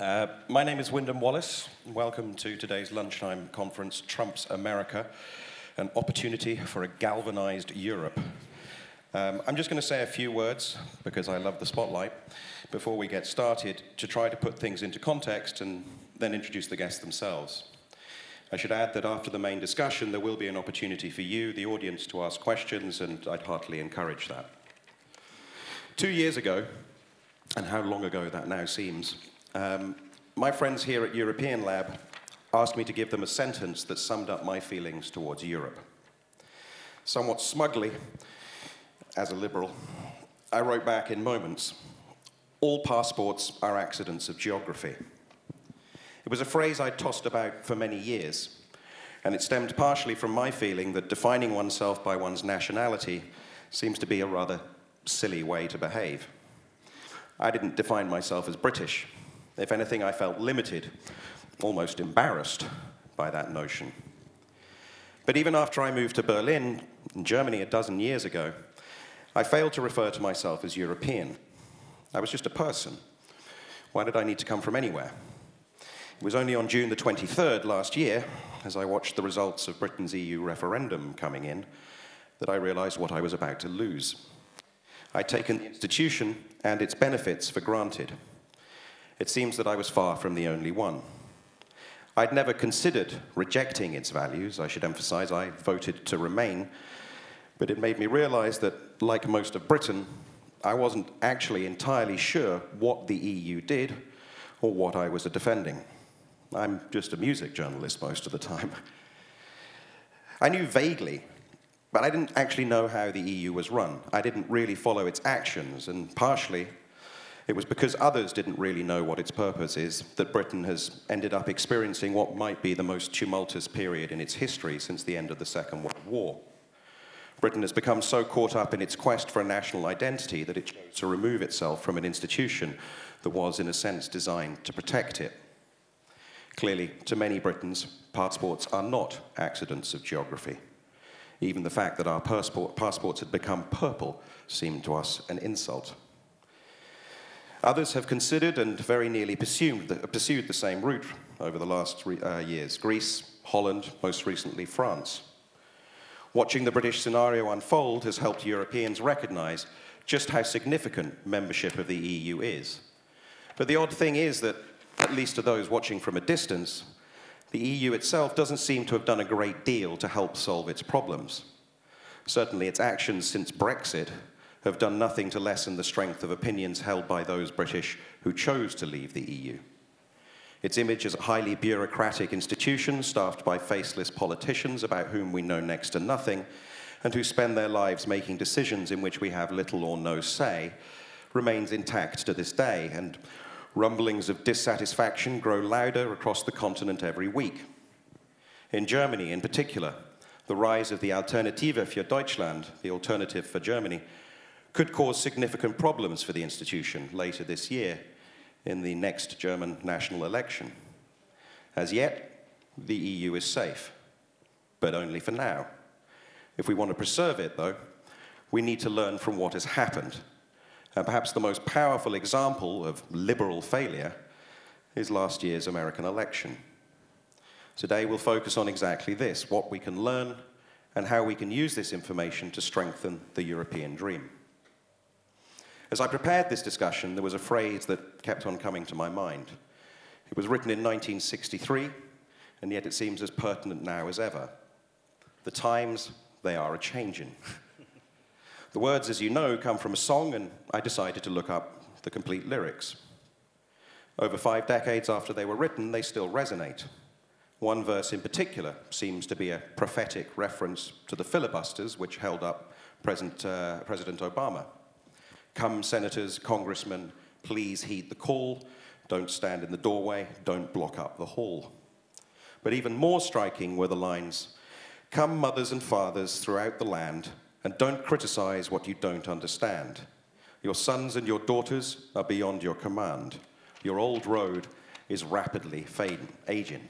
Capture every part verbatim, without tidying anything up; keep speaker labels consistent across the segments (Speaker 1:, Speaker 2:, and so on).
Speaker 1: Uh, my name is Wyndham Wallace. Welcome to today's lunchtime conference, Trump's America, an opportunity for a galvanized Europe. Um, I'm just going to say a few words, because I love the spotlight, before we get started, to try to put things into context and then introduce the guests themselves. I should add that after the main discussion, there will be an opportunity for you, the audience, to ask questions, and I'd heartily encourage that. Two years ago, and how long ago that now seems, Um, my friends here at European Lab asked me to give them a sentence that summed up my feelings towards Europe. Somewhat smugly, as a liberal, I wrote back in moments, "All passports are accidents of geography." It was a phrase I'd tossed about for many years, and it stemmed partially from my feeling that defining oneself by one's nationality seems to be a rather silly way to behave. I didn't define myself as British. If anything, I felt limited, almost embarrassed by that notion. But even after I moved to Berlin, in Germany, a dozen years ago, I failed to refer to myself as European. I was just a person. Why did I need to come from anywhere? It was only on June the twenty-third last year, as I watched the results of Britain's E U referendum coming in, that I realized what I was about to lose. I'd taken the institution and its benefits for granted. It seems that I was far from the only one. I'd never considered rejecting its values. I should emphasize I voted to remain, but it made me realize that, like most of Britain, I wasn't actually entirely sure what the E U did or what I was defending. I'm just a music journalist most of the time. I knew vaguely, but I didn't actually know how the E U was run. I didn't really follow its actions, and partially it was because others didn't really know what its purpose is that Britain has ended up experiencing what might be the most tumultuous period in its history since the end of the Second World War. Britain has become so caught up in its quest for a national identity that it chose to remove itself from an institution that was, in a sense, designed to protect it. Clearly, to many Britons, passports are not accidents of geography. Even the fact that our passport, passports had become purple seemed to us an insult. Others have considered and very nearly pursued the, pursued the same route over the last uh, years. Greece, Holland, most recently France. Watching the British scenario unfold has helped Europeans recognize just how significant membership of the E U is. But the odd thing is that, at least to those watching from a distance, the E U itself doesn't seem to have done a great deal to help solve its problems. Certainly its actions since Brexit have done nothing to lessen the strength of opinions held by those British who chose to leave the E U. Its image as a highly bureaucratic institution staffed by faceless politicians about whom we know next to nothing and who spend their lives making decisions in which we have little or no say remains intact to this day, and rumblings of dissatisfaction grow louder across the continent every week. In Germany, in particular, the rise of the Alternative für Deutschland, the alternative for Germany, could cause significant problems for the institution later this year in the next German national election. As yet, the E U is safe, but only for now. If we want to preserve it, though, we need to learn from what has happened. And perhaps the most powerful example of liberal failure is last year's American election. Today, we'll focus on exactly this, what we can learn and how we can use this information to strengthen the European dream. As I prepared this discussion, there was a phrase that kept on coming to my mind. It was written in nineteen sixty-three, and yet it seems as pertinent now as ever. The times, they are a-changin'. The words, as you know, come from a song, and I decided to look up the complete lyrics. Over five decades after they were written, they still resonate. One verse in particular seems to be a prophetic reference to the filibusters which held up President, uh, President Obama. "Come, senators, congressmen, please heed the call. Don't stand in the doorway, don't block up the hall." But even more striking were the lines, "Come, mothers and fathers throughout the land, and don't criticize what you don't understand. Your sons and your daughters are beyond your command. Your old road is rapidly fading, aging."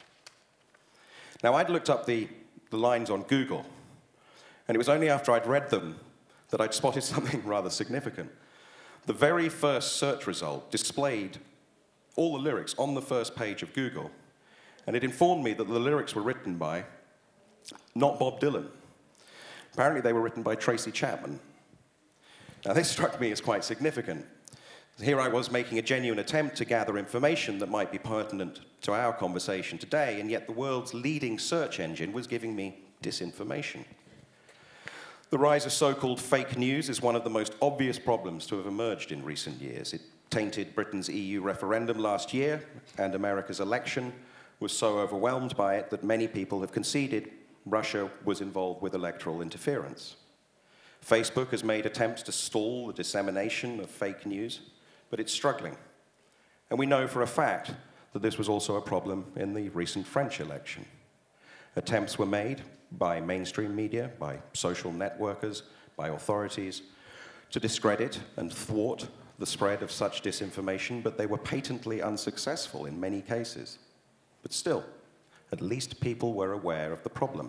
Speaker 1: Now, I'd looked up the, the lines on Google, and it was only after I'd read them that I'd spotted something rather significant. The very first search result displayed all the lyrics on the first page of Google, and it informed me that the lyrics were written by not Bob Dylan. Apparently they were written by Tracy Chapman. Now this struck me as quite significant. Here I was making a genuine attempt to gather information that might be pertinent to our conversation today, and yet the world's leading search engine was giving me disinformation. The rise of so-called fake news is one of the most obvious problems to have emerged in recent years. It tainted Britain's E U referendum last year, and America's election was so overwhelmed by it that many people have conceded Russia was involved with electoral interference. Facebook has made attempts to stall the dissemination of fake news, but it's struggling. And we know for a fact that this was also a problem in the recent French election. Attempts were made by mainstream media, by social networkers, by authorities, to discredit and thwart the spread of such disinformation, but they were patently unsuccessful in many cases. But still, at least people were aware of the problem.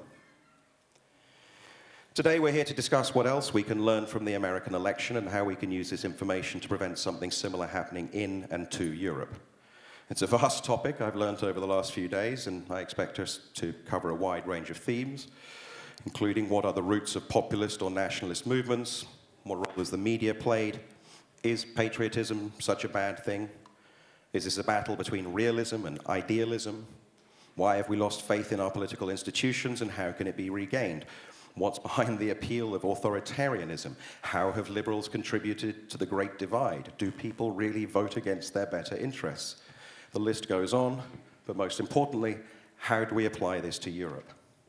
Speaker 1: Today we're here to discuss what else we can learn from the American election and how we can use this information to prevent something similar happening in and to Europe. It's a vast topic I've learned over the last few days, and I expect us to cover a wide range of themes, including what are the roots of populist or nationalist movements, what role has the media played, is patriotism such a bad thing, is this a battle between realism and idealism, why have we lost faith in our political institutions and how can it be regained? What's behind the appeal of authoritarianism? How have liberals contributed to the Great Divide? Do people really vote against their better interests? The list goes on, but most importantly, how do we apply this to Europe?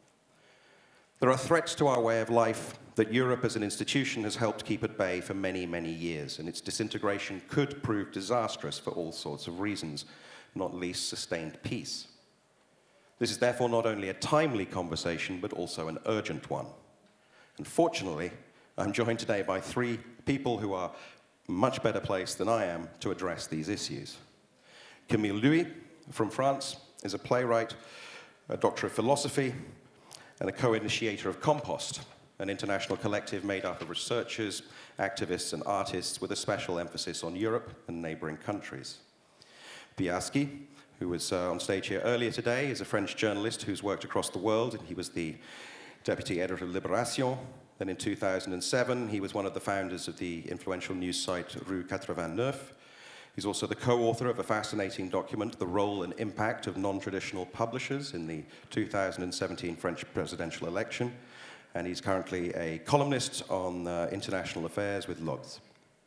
Speaker 1: There are threats to our way of life that Europe as an institution has helped keep at bay for many, many years, and its disintegration could prove disastrous for all sorts of reasons, not least sustained peace. This is therefore not only a timely conversation, but also an urgent one. And fortunately, I'm joined today by three people who are much better placed than I am to address these issues. Camille Louis from France is a playwright, a doctor of philosophy, and a co-initiator of Compost, an international collective made up of researchers, activists, and artists with a special emphasis on Europe and neighboring countries. Biaski, who was uh, on stage here earlier today, is a French journalist who's worked across the world, and he was the deputy editor of Libération. Then in two thousand seven, he was one of the founders of the influential news site Rue eighty-neuf. He's also the co-author of a fascinating document, The Role and Impact of Non-Traditional Publishers in the two thousand seventeen French presidential election. And he's currently a columnist on uh, international affairs with L'Obs.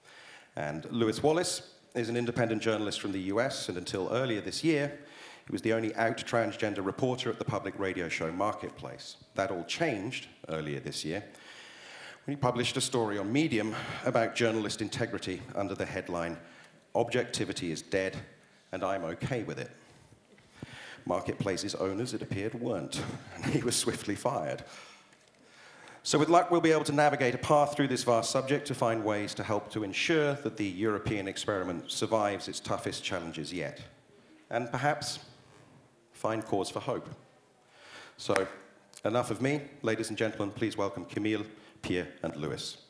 Speaker 1: And Lewis Wallace is an independent journalist from the U S, and until earlier this year, he was the only out transgender reporter at the public radio show Marketplace. That all changed earlier this year when he published a story on Medium about journalist integrity under the headline, "Objectivity is dead, and I'm okay with it." Marketplace's owners, it appeared, weren't, and he was swiftly fired. So with luck, we'll be able to navigate a path through this vast subject to find ways to help to ensure that the European experiment survives its toughest challenges yet, and perhaps find cause for hope. So, enough of me. Ladies and gentlemen, please welcome Camille, Pierre, and Lewis.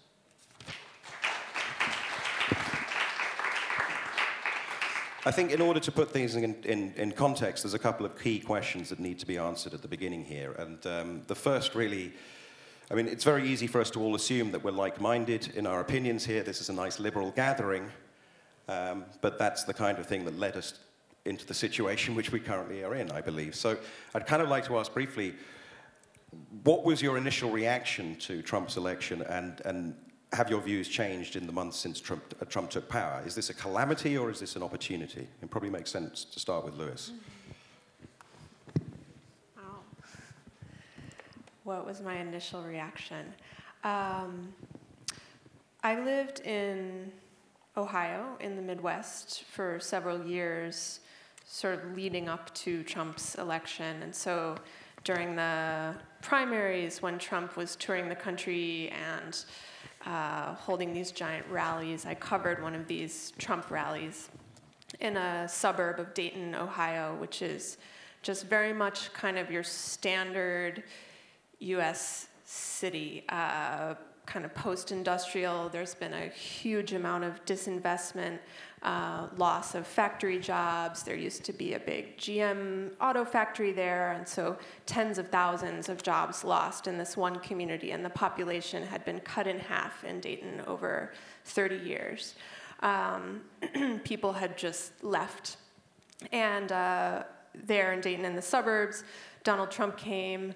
Speaker 1: I think in order to put things in, in, in context, there's a couple of key questions that need to be answered at the beginning here. And um, the first really, I mean, it's very easy for us to all assume that we're like-minded in our opinions here. This is a nice liberal gathering, um, but that's the kind of thing that led us into the situation which we currently are in, I believe. So I'd kind of like to ask briefly, what was your initial reaction to Trump's election, and, and have your views changed in the months since Trump, uh, Trump took power? Is this a calamity or is this an opportunity? It probably makes sense to start with Lewis.
Speaker 2: Wow. What was my initial reaction? Um, I lived in Ohio in the Midwest for several years, sort of leading up to Trump's election. And so during the primaries, when Trump was touring the country and uh, holding these giant rallies, I covered one of these Trump rallies in a suburb of Dayton, Ohio, which is just very much kind of your standard U S city, uh, kind of post-industrial. There's been a huge amount of disinvestment, uh, loss of factory jobs. There used to be a big G M auto factory there, and so tens of thousands of jobs lost in this one community, and the population had been cut in half in Dayton over thirty years. Um, people had just left. And uh, there in Dayton in the suburbs, Donald Trump came.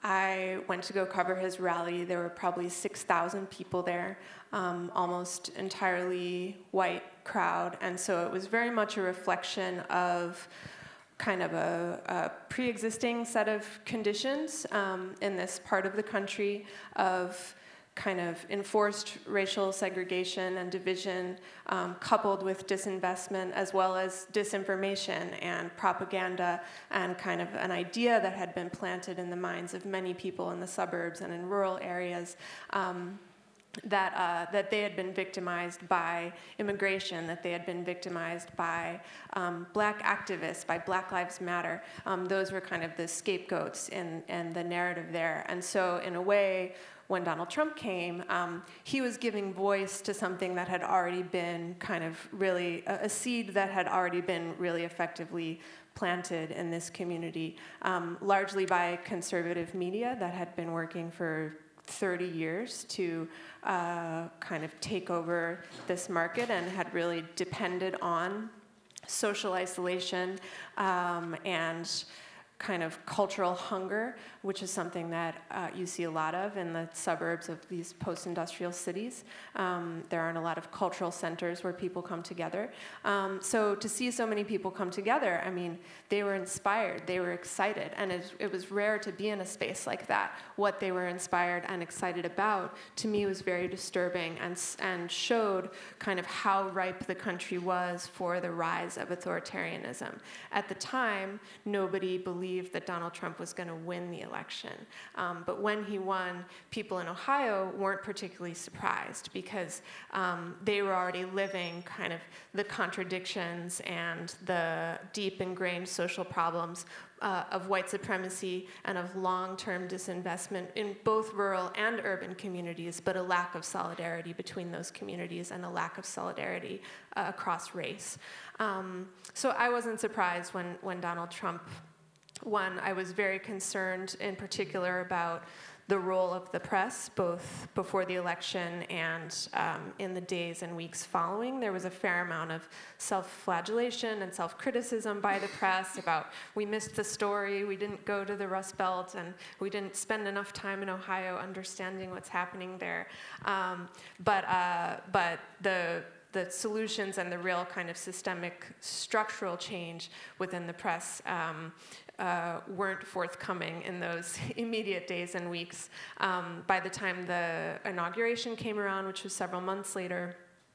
Speaker 2: I went to go cover his rally. There were probably six thousand people there, um, almost entirely white crowd. And so it was very much a reflection of kind of a, a pre-existing set of conditions um, in this part of the country of kind of enforced racial segregation and division, um, coupled with disinvestment, as well as disinformation and propaganda, and kind of an idea that had been planted in the minds of many people in the suburbs and in rural areas, um, that uh, that they had been victimized by immigration, that they had been victimized by um, black activists, by Black Lives Matter. Um, those were kind of the scapegoats in, in the narrative there. And so in a way, when Donald Trump came, um, he was giving voice to something that had already been kind of really, a, a seed that had already been really effectively planted in this community, um, largely by conservative media that had been working for thirty years to uh, kind of take over this market and had really depended on social isolation um, and kind of cultural hunger, which is something that uh, you see a lot of in the suburbs of these post-industrial cities. Um, there aren't a lot of cultural centers where people come together. Um, so to see so many people come together, I mean, they were inspired, they were excited, and it, it was rare to be in a space like that. What they were inspired and excited about, to me, was very disturbing and, and showed kind of how ripe the country was for the rise of authoritarianism. At the time, nobody believed that Donald Trump was going to win the election. Um, but when he won, people in Ohio weren't particularly surprised because um, they were already living kind of the contradictions and the deep ingrained social problems uh, of white supremacy and of long-term disinvestment in both rural and urban communities, but a lack of solidarity between those communities and a lack of solidarity uh, across race. Um, so I wasn't surprised when, when Donald Trump One, I was very concerned in particular about the role of the press, both before the election and um, in the days and weeks following. There was a fair amount of self-flagellation and self-criticism by the press about, we missed the story, we didn't go to the Rust Belt, and we didn't spend enough time in Ohio understanding what's happening there. Um, but uh, but the the solutions and the real kind of systemic structural change within the press um, uh, weren't forthcoming in those immediate days and weeks. Um, by the time the inauguration came around, which was several months later,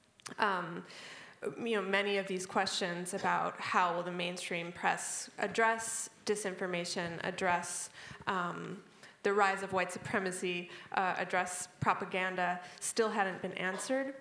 Speaker 2: um, you know, many of these questions about how will the mainstream press address disinformation, address um, the rise of white supremacy, uh, address propaganda, still hadn't been answered.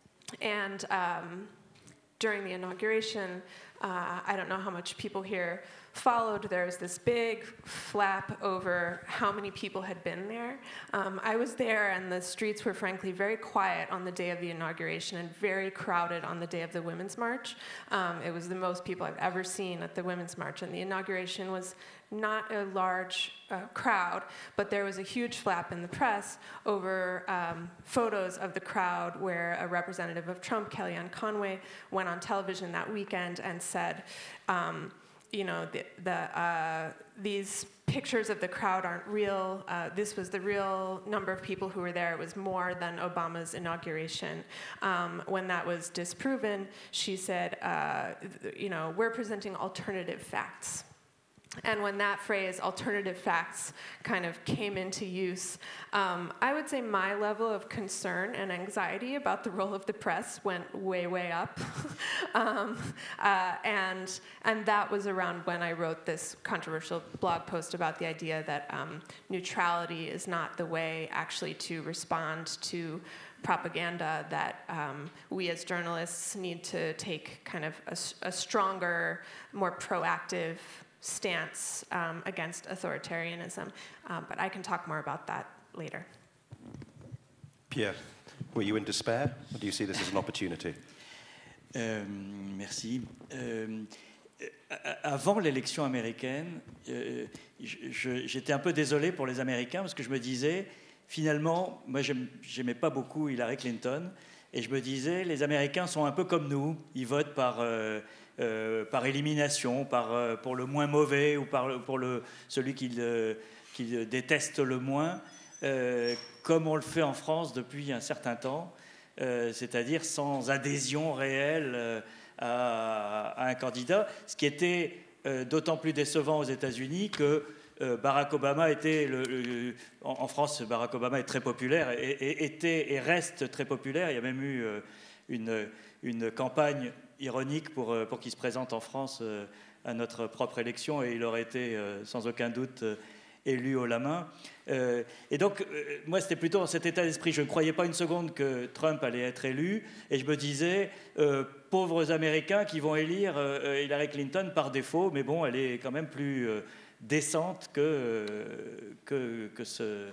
Speaker 2: And um, during the inauguration, uh, I don't know how much people here followed, there was this big flap over how many people had been there. Um, I was there, and the streets were frankly very quiet on the day of the inauguration and very crowded on the day of the Women's March. Um, it was the most people I've ever seen at the Women's March, and the inauguration was not a large uh, crowd, but there was a huge flap in the press over um, photos of the crowd where a representative of Trump, Kellyanne Conway, went on television that weekend and said, um, you know, the, the, uh, these pictures of the crowd aren't real. Uh, this was the real number of people who were there. It was more than Obama's inauguration. Um, when that was disproven, she said, uh, you know, we're presenting alternative facts. And when that phrase, alternative facts, kind of came into use, um, I would say my level of concern and anxiety about the role of the press went way, way up. um, uh, and, and that was around when I wrote this controversial blog post about the idea that um, neutrality is not the way actually to respond to propaganda, that um, we as journalists need to take kind of a, a stronger, more proactive stance um, against authoritarianism. Um, but I can talk more about that later.
Speaker 1: Pierre, were you in despair, or do you see this as an opportunity?
Speaker 3: Euh, merci. Euh, avant l'élection américaine, euh, je, j'étais un peu désolé pour les Américains parce que je me disais, finalement, moi j'aimais pas beaucoup Hillary Clinton, et je me disais, les Américains sont un peu comme nous, ils votent par, euh, euh, par élimination, par, euh, pour le moins mauvais ou par, pour le, celui qu'ils euh, qu'ils détestent le moins, euh, comme on le fait en France depuis un certain temps, euh, c'est-à-dire sans adhésion réelle euh, à, à un candidat, ce qui était euh, d'autant plus décevant aux États-Unis que euh, Barack Obama était, le, le, en, en France, Barack Obama est très populaire, et, et, était et reste très populaire. Il y a même eu euh, une, une campagne ironique pour, pour qu'il se présente en France euh, à notre propre élection, et il aurait été euh, sans aucun doute euh, élu haut la main. Euh, et donc, euh, moi, c'était plutôt dans cet état d'esprit. Je ne croyais pas une seconde que Trump allait être élu, et je me disais, euh, pauvres Américains qui vont élire euh, Hillary Clinton par défaut, mais bon, elle est quand même plus euh, décente que, euh, que, que ce,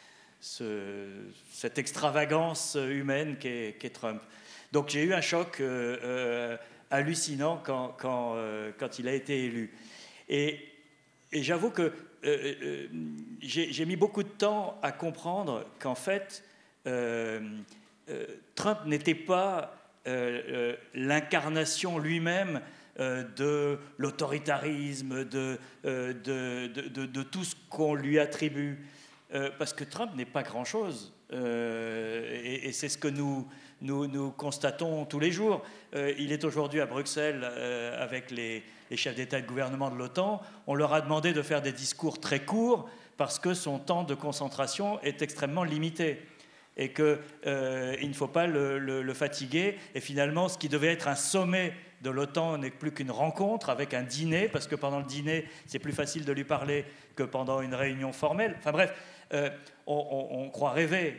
Speaker 3: ce, cette extravagance humaine qu'est, qu'est Trump. Donc, j'ai eu un choc euh, euh, hallucinant quand, quand, euh, quand il a été élu. Et, et j'avoue que Euh, euh, j'ai, j'ai mis beaucoup de temps à comprendre qu'en fait, euh, euh, Trump n'était pas euh, euh, l'incarnation lui-même euh, de l'autoritarisme, de, euh, de, de, de, de tout ce qu'on lui attribue. Euh, parce que Trump n'est pas grand-chose. Euh, et, et c'est ce que nous, nous, nous constatons tous les jours. Euh, il est aujourd'hui à Bruxelles euh, avec les, les chefs d'État et de gouvernement de l'OTAN. On leur a demandé de faire des discours très courts parce que son temps de concentration est extrêmement limité et qu'il euh, ne faut pas le, le, le fatiguer. Et finalement, ce qui devait être un sommet de l'OTAN n'est plus qu'une rencontre avec un dîner, parce que pendant le dîner, c'est plus facile de lui parler que pendant une réunion formelle. Enfin bref, euh, on, on, on croit rêver.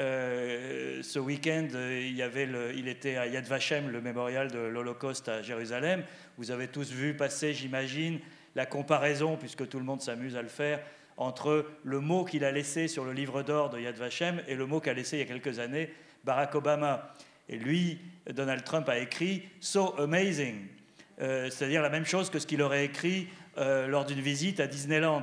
Speaker 3: Euh, ce week-end, il, y avait le, il était à Yad Vashem, le mémorial de l'Holocauste à Jérusalem. Vous avez tous vu passer, j'imagine, la comparaison, puisque tout le monde s'amuse à le faire, entre le mot qu'il a laissé sur le livre d'or de Yad Vashem et le mot qu'a laissé il y a quelques années Barack Obama. Et lui, Donald Trump a écrit « So amazing euh, », c'est-à-dire la même chose que ce qu'il aurait écrit euh, lors d'une visite à Disneyland.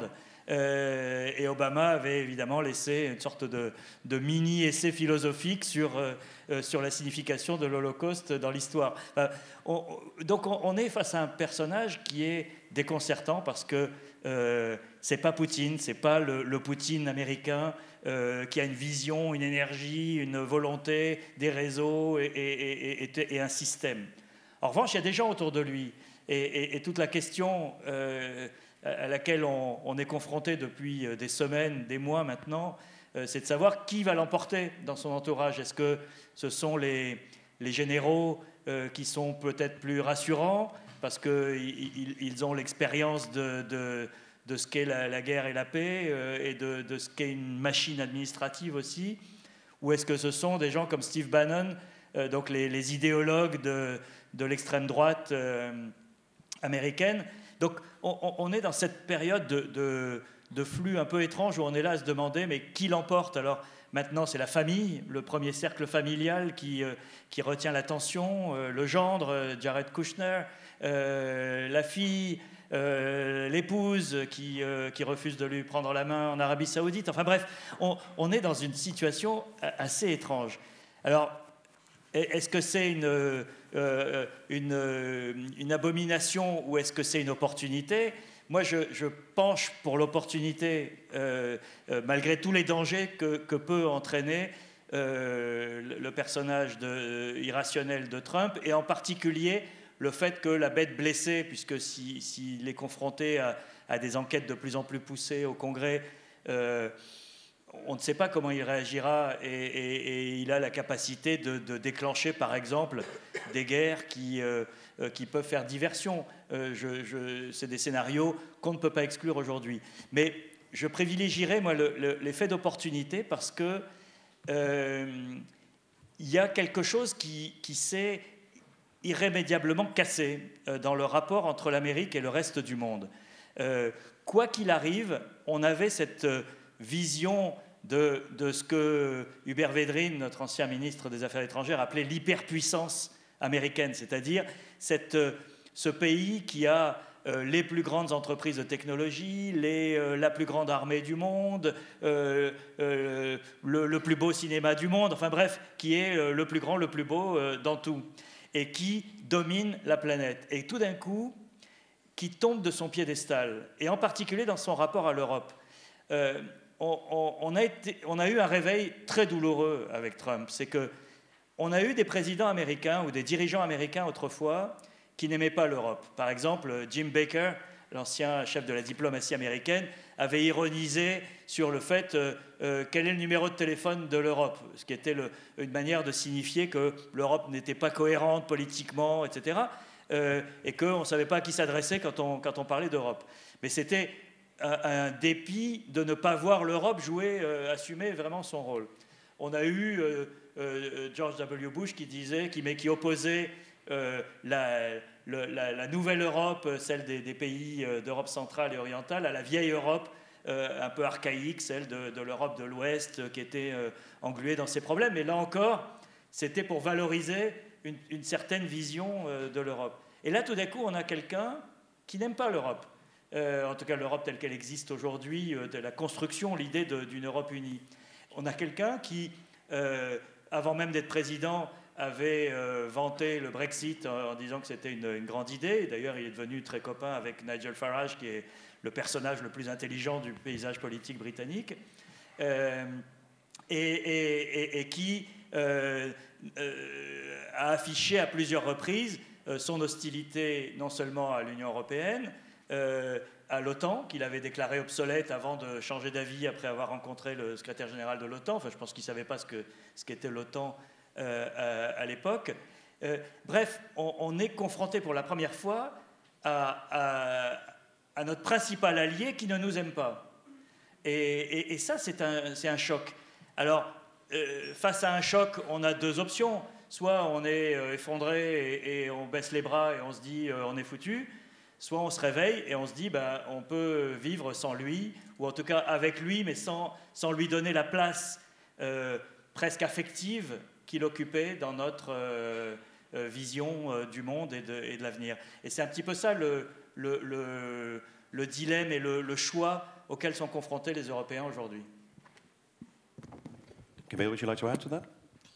Speaker 3: Euh, et Obama avait évidemment laissé une sorte de, de mini-essai philosophique sur, euh, sur la signification de l'Holocauste dans l'histoire. Enfin, on, donc on, on est face à un personnage qui est déconcertant parce que euh, c'est pas Poutine, c'est pas le, le Poutine américain euh, qui a une vision, une énergie, une volonté, des réseaux et, et, et, et, et un système. En revanche, il y a des gens autour de lui et, et, et toute la question euh, à laquelle on, on est confronté depuis des semaines, des mois maintenant, euh, c'est de savoir qui va l'emporter dans son entourage. Est-ce que ce sont les, les généraux euh, qui sont peut-être plus rassurants parce qu'ils ils ont l'expérience de, de, de ce qu'est la, la guerre et la paix euh, et de, de ce qu'est une machine administrative aussi, ou est-ce que ce sont des gens comme Steve Bannon, euh, donc les, les idéologues de, de l'extrême droite euh, américaine. Donc on, on est dans cette période de, de, de flux un peu étrange où on est là à se demander mais qui l'emporte. Alors maintenant c'est la famille, le premier cercle familial qui, euh, qui retient l'attention, euh, le gendre, euh, Jared Kushner, euh, la fille, euh, l'épouse qui, euh, qui refuse de lui prendre la main en Arabie Saoudite. Enfin bref, on, on est dans une situation assez étrange. Alors est-ce que c'est une, euh, une, une abomination ou est-ce que c'est une opportunité ? Moi, je, je penche pour l'opportunité, euh, euh, malgré tous les dangers que, que peut entraîner euh, le, le personnage de, euh, irrationnel de Trump, et en particulier le fait que la bête blessée, puisque s'il si, si est confronté à, à des enquêtes de plus en plus poussées au Congrès, euh, on ne sait pas comment il réagira et, et, et il a la capacité de, de déclencher, par exemple, des guerres qui, euh, qui peuvent faire diversion. Euh, je, je, c'est des scénarios qu'on ne peut pas exclure aujourd'hui. Mais je privilégierais, moi, le, le, l'effet d'opportunité parce que euh, il y a quelque chose qui, qui s'est irrémédiablement cassé euh, dans le rapport entre l'Amérique et le reste du monde. Euh, quoi qu'il arrive, on avait cette euh, vision de, de ce que Hubert Védrine, notre ancien ministre des Affaires étrangères, appelait l'hyperpuissance américaine, c'est-à-dire cette, ce pays qui a euh, les plus grandes entreprises de technologie, les, euh, la plus grande armée du monde, euh, euh, le, le plus beau cinéma du monde, enfin bref, qui est euh, le plus grand, le plus beau euh, dans tout, et qui domine la planète. Et tout d'un coup, qui tombe de son piédestal, et en particulier dans son rapport à l'Europe. Euh, on, on, on, a été, on a eu un réveil très douloureux avec Trump. C'est qu'on a eu des présidents américains ou des dirigeants américains autrefois qui n'aimaient pas l'Europe. Par exemple, Jim Baker, l'ancien chef de la diplomatie américaine, avait ironisé sur le fait euh, euh, quel est le numéro de téléphone de l'Europe, ce qui était le, une manière de signifier que l'Europe n'était pas cohérente politiquement, et cetera, euh, et qu'on ne savait pas à qui s'adresser quand on, quand on parlait d'Europe. Mais c'était un, un dépit de ne pas voir l'Europe jouer, euh, assumer vraiment son rôle. On a eu euh, euh, George W. Bush qui disait, qui, mais qui opposait euh, la, le, la, la nouvelle Europe, celle des, des pays d'Europe centrale et orientale, à la vieille Europe, euh, un peu archaïque, celle de, de l'Europe de l'Ouest, qui était euh, engluée dans ses problèmes. Et là encore, c'était pour valoriser une, une certaine vision euh, de l'Europe. Et là, tout d'un coup, on a quelqu'un qui n'aime pas l'Europe. Euh, en tout cas, l'Europe telle qu'elle existe aujourd'hui, euh, de la construction, l'idée d'une Europe unie. On a quelqu'un qui, euh, avant même d'être président, avait euh, vanté le Brexit en, en disant que c'était une, une grande idée. D'ailleurs, il est devenu très copain avec Nigel Farage, qui est le personnage le plus intelligent du paysage politique britannique, euh, et, et, et, et qui euh, euh, a affiché à plusieurs reprises euh, son hostilité non seulement à l'Union européenne, euh, à l'OTAN, qu'il avait déclaré obsolète avant de changer d'avis après avoir rencontré le secrétaire général de l'OTAN. Enfin, je pense qu'il ne savait pas ce que, ce qu'était l'OTAN euh, à, à l'époque. Euh, bref, on, on est confronté pour la première fois à, à, à notre principal allié qui ne nous aime pas. Et, et, et ça, c'est un, c'est un choc. Alors, euh, face à un choc, on a deux options. Soit on est euh, effondré et, et on baisse les bras et on se dit euh, on est foutu. Soit on se réveille et on se dit ben, on peut vivre sans lui, ou en tout cas avec lui, mais sans, sans lui donner la place euh, presque affective qu'il occupait dans notre euh, euh, vision euh, du monde et de, et de l'avenir. Et c'est un petit peu ça le, le, le, le dilemme et le, le choix auxquels sont confrontés les Européens aujourd'hui.
Speaker 1: Camille, would you like to add to that?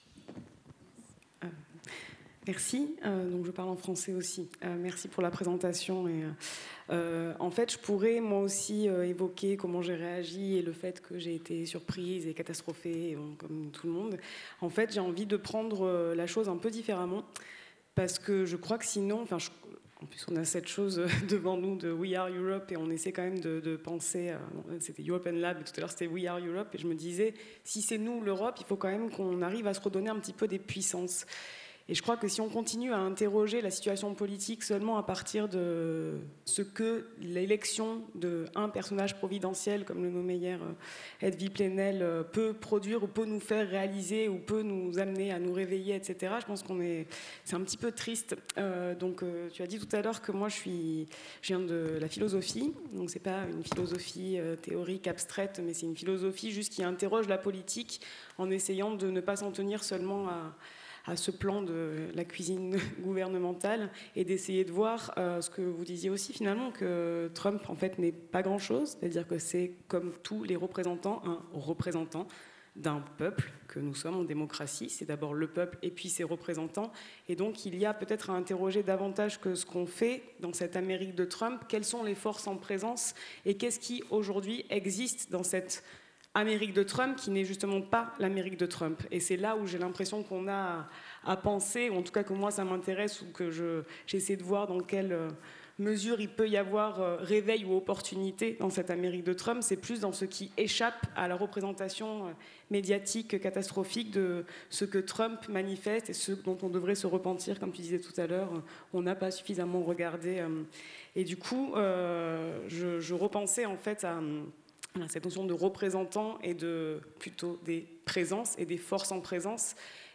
Speaker 4: Merci, euh, donc je parle en français aussi. Euh, merci pour la présentation. Et, euh, en fait, je pourrais moi aussi euh, évoquer comment j'ai réagi et le fait que j'ai été surprise et catastrophée, bon, comme tout le monde. En fait, j'ai envie de prendre euh, la chose un peu différemment, parce que je crois que sinon, enfin, je, en plus on a cette chose devant nous de We Are Europe et on essaie quand même de, de penser, euh, c'était European Lab, tout à l'heure c'était We Are Europe, et je me disais, si c'est nous l'Europe, il faut quand même qu'on arrive à se redonner un petit peu des puissances. Et je crois que si on continue à interroger la situation politique seulement à partir de ce que l'élection d'un personnage providentiel, comme le nommait hier Edwy Plenel, peut produire ou peut nous faire réaliser ou peut nous amener à nous réveiller, et cetera, je pense qu'on est, c'est un petit peu triste. Euh, donc, euh, tu as dit tout à l'heure que moi, je, suis, je viens de la philosophie. Donc, c'est pas une philosophie euh, théorique, abstraite, mais c'est une philosophie juste qui interroge la politique en essayant de ne pas s'en tenir seulement à... à ce plan de la cuisine gouvernementale et d'essayer de voir euh, ce que vous disiez aussi finalement, que Trump en fait n'est pas grand-chose, c'est-à-dire que c'est comme tous les représentants, un représentant d'un peuple que nous sommes en démocratie, c'est d'abord le peuple et puis ses représentants, et donc il y a peut-être à interroger davantage que ce qu'on fait dans cette Amérique de Trump, quelles sont les forces en présence et qu'est-ce qui aujourd'hui existe dans cette Amérique de Trump qui n'est justement pas l'Amérique de Trump. Et c'est là où j'ai l'impression qu'on a à, à penser, ou en tout cas que moi ça m'intéresse, ou que je, j'essaie de voir dans quelle mesure il peut y avoir euh, réveil ou opportunité dans cette Amérique de Trump. C'est plus dans ce qui échappe à la représentation euh, médiatique catastrophique de ce que Trump manifeste et ce dont on devrait se repentir, comme tu disais tout à l'heure, on n'a pas suffisamment regardé. Euh, et du coup, euh, je, je repensais en fait à... cette notion de représentant et de plutôt des présences et des forces en présence.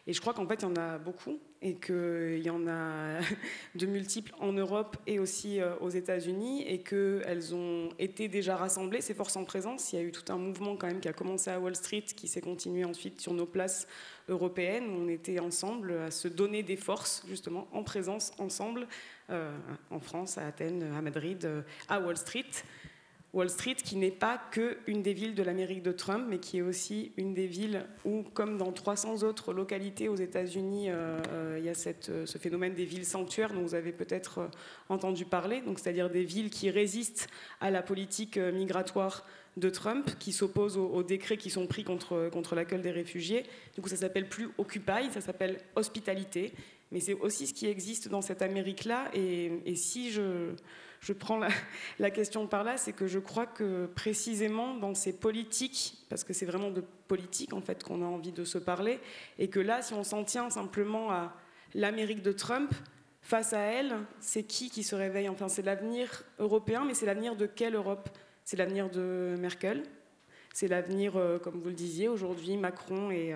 Speaker 4: Et je crois qu'en fait, il y en a beaucoup et qu'il y en a de multiples en Europe et aussi aux États-Unis et qu'elles ont été déjà rassemblées, ces forces en présence. Il y a eu tout un mouvement quand même qui a commencé à Wall Street, qui s'est continué ensuite sur nos places européennes, où on était ensemble à se donner des forces, justement, en présence, ensemble, euh, en France, à Athènes, à Madrid, à Wall Street. Wall Street, qui n'est pas qu'une des villes de l'Amérique de Trump, mais qui est aussi une des villes où, comme dans trois cents autres localités aux États-Unis, euh, euh, il y a cette, ce phénomène des villes sanctuaires dont vous avez peut-être euh, entendu parler, donc c'est-à-dire des villes qui résistent à la politique euh, migratoire de Trump, qui s'opposent aux, aux décrets qui sont pris contre, contre l'accueil des réfugiés. Du coup, ça s'appelle plus Occupy, ça s'appelle hospitalité. Mais c'est aussi ce qui existe dans cette Amérique-là. Et, et si je... Je prends la, la question par là, c'est que je crois que précisément dans ces politiques, parce que c'est vraiment de politique en fait qu'on a envie de se parler, et que là, si on s'en tient simplement à l'Amérique de Trump, face à elle, c'est qui qui se réveille? Enfin, c'est l'avenir européen, mais c'est l'avenir de quelle Europe? C'est l'avenir de Merkel, c'est l'avenir, euh, comme vous le disiez, aujourd'hui, Macron et... Euh,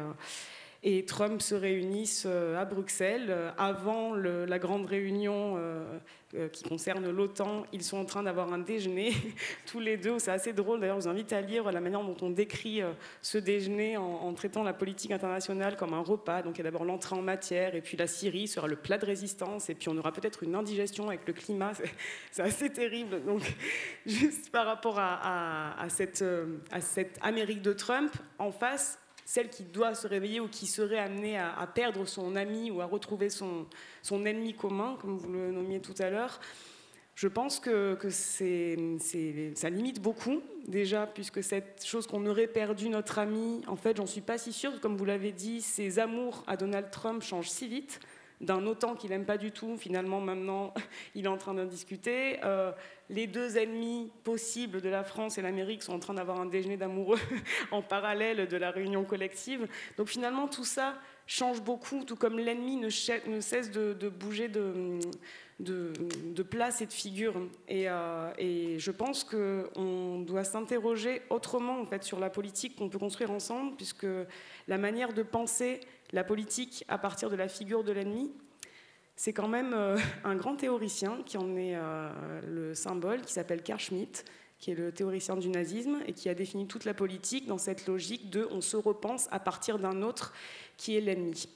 Speaker 4: Et Trump se réunissent à Bruxelles. Avant le, la grande réunion euh, euh, qui concerne l'OTAN, ils sont en train d'avoir un déjeuner, tous les deux. C'est assez drôle, d'ailleurs, je vous invite à lire la manière dont on décrit euh, ce déjeuner en, en traitant la politique internationale comme un repas. Donc il y a d'abord l'entrée en matière, et puis la Syrie sera le plat de résistance, et puis on aura peut-être une indigestion avec le climat. C'est, c'est assez terrible. Donc juste par rapport à, à, à, cette, euh, à cette Amérique de Trump, en face, celle qui doit se réveiller ou qui serait amenée à, à perdre son ami ou à retrouver son, son ennemi commun, comme vous le nommiez tout à l'heure, je pense que, que c'est, c'est, ça limite beaucoup, déjà, puisque cette chose qu'on aurait perdu notre ami, en fait, j'en suis pas si sûre. Comme vous l'avez dit, ses amours à Donald Trump changent si vite. D'un OTAN qu'il n'aime pas du tout, finalement, maintenant, il est en train d'en discuter. Euh, les deux ennemis possibles de la France et l'Amérique sont en train d'avoir un déjeuner d'amoureux en parallèle de la réunion collective. Donc finalement, tout ça change beaucoup, tout comme l'ennemi ne, ch- ne cesse de, de bouger de, de, de place et de figure. Et, euh, et je pense qu'on doit s'interroger autrement, en fait, sur la politique qu'on peut construire ensemble, puisque la manière de penser la politique à partir de la figure de l'ennemi, c'est quand même euh, un grand théoricien qui en est euh, le symbole, qui s'appelle Carl Schmitt, qui est le théoricien du nazisme et qui a défini toute la politique dans cette logique de on se repense à partir d'un autre qui est l'ennemi.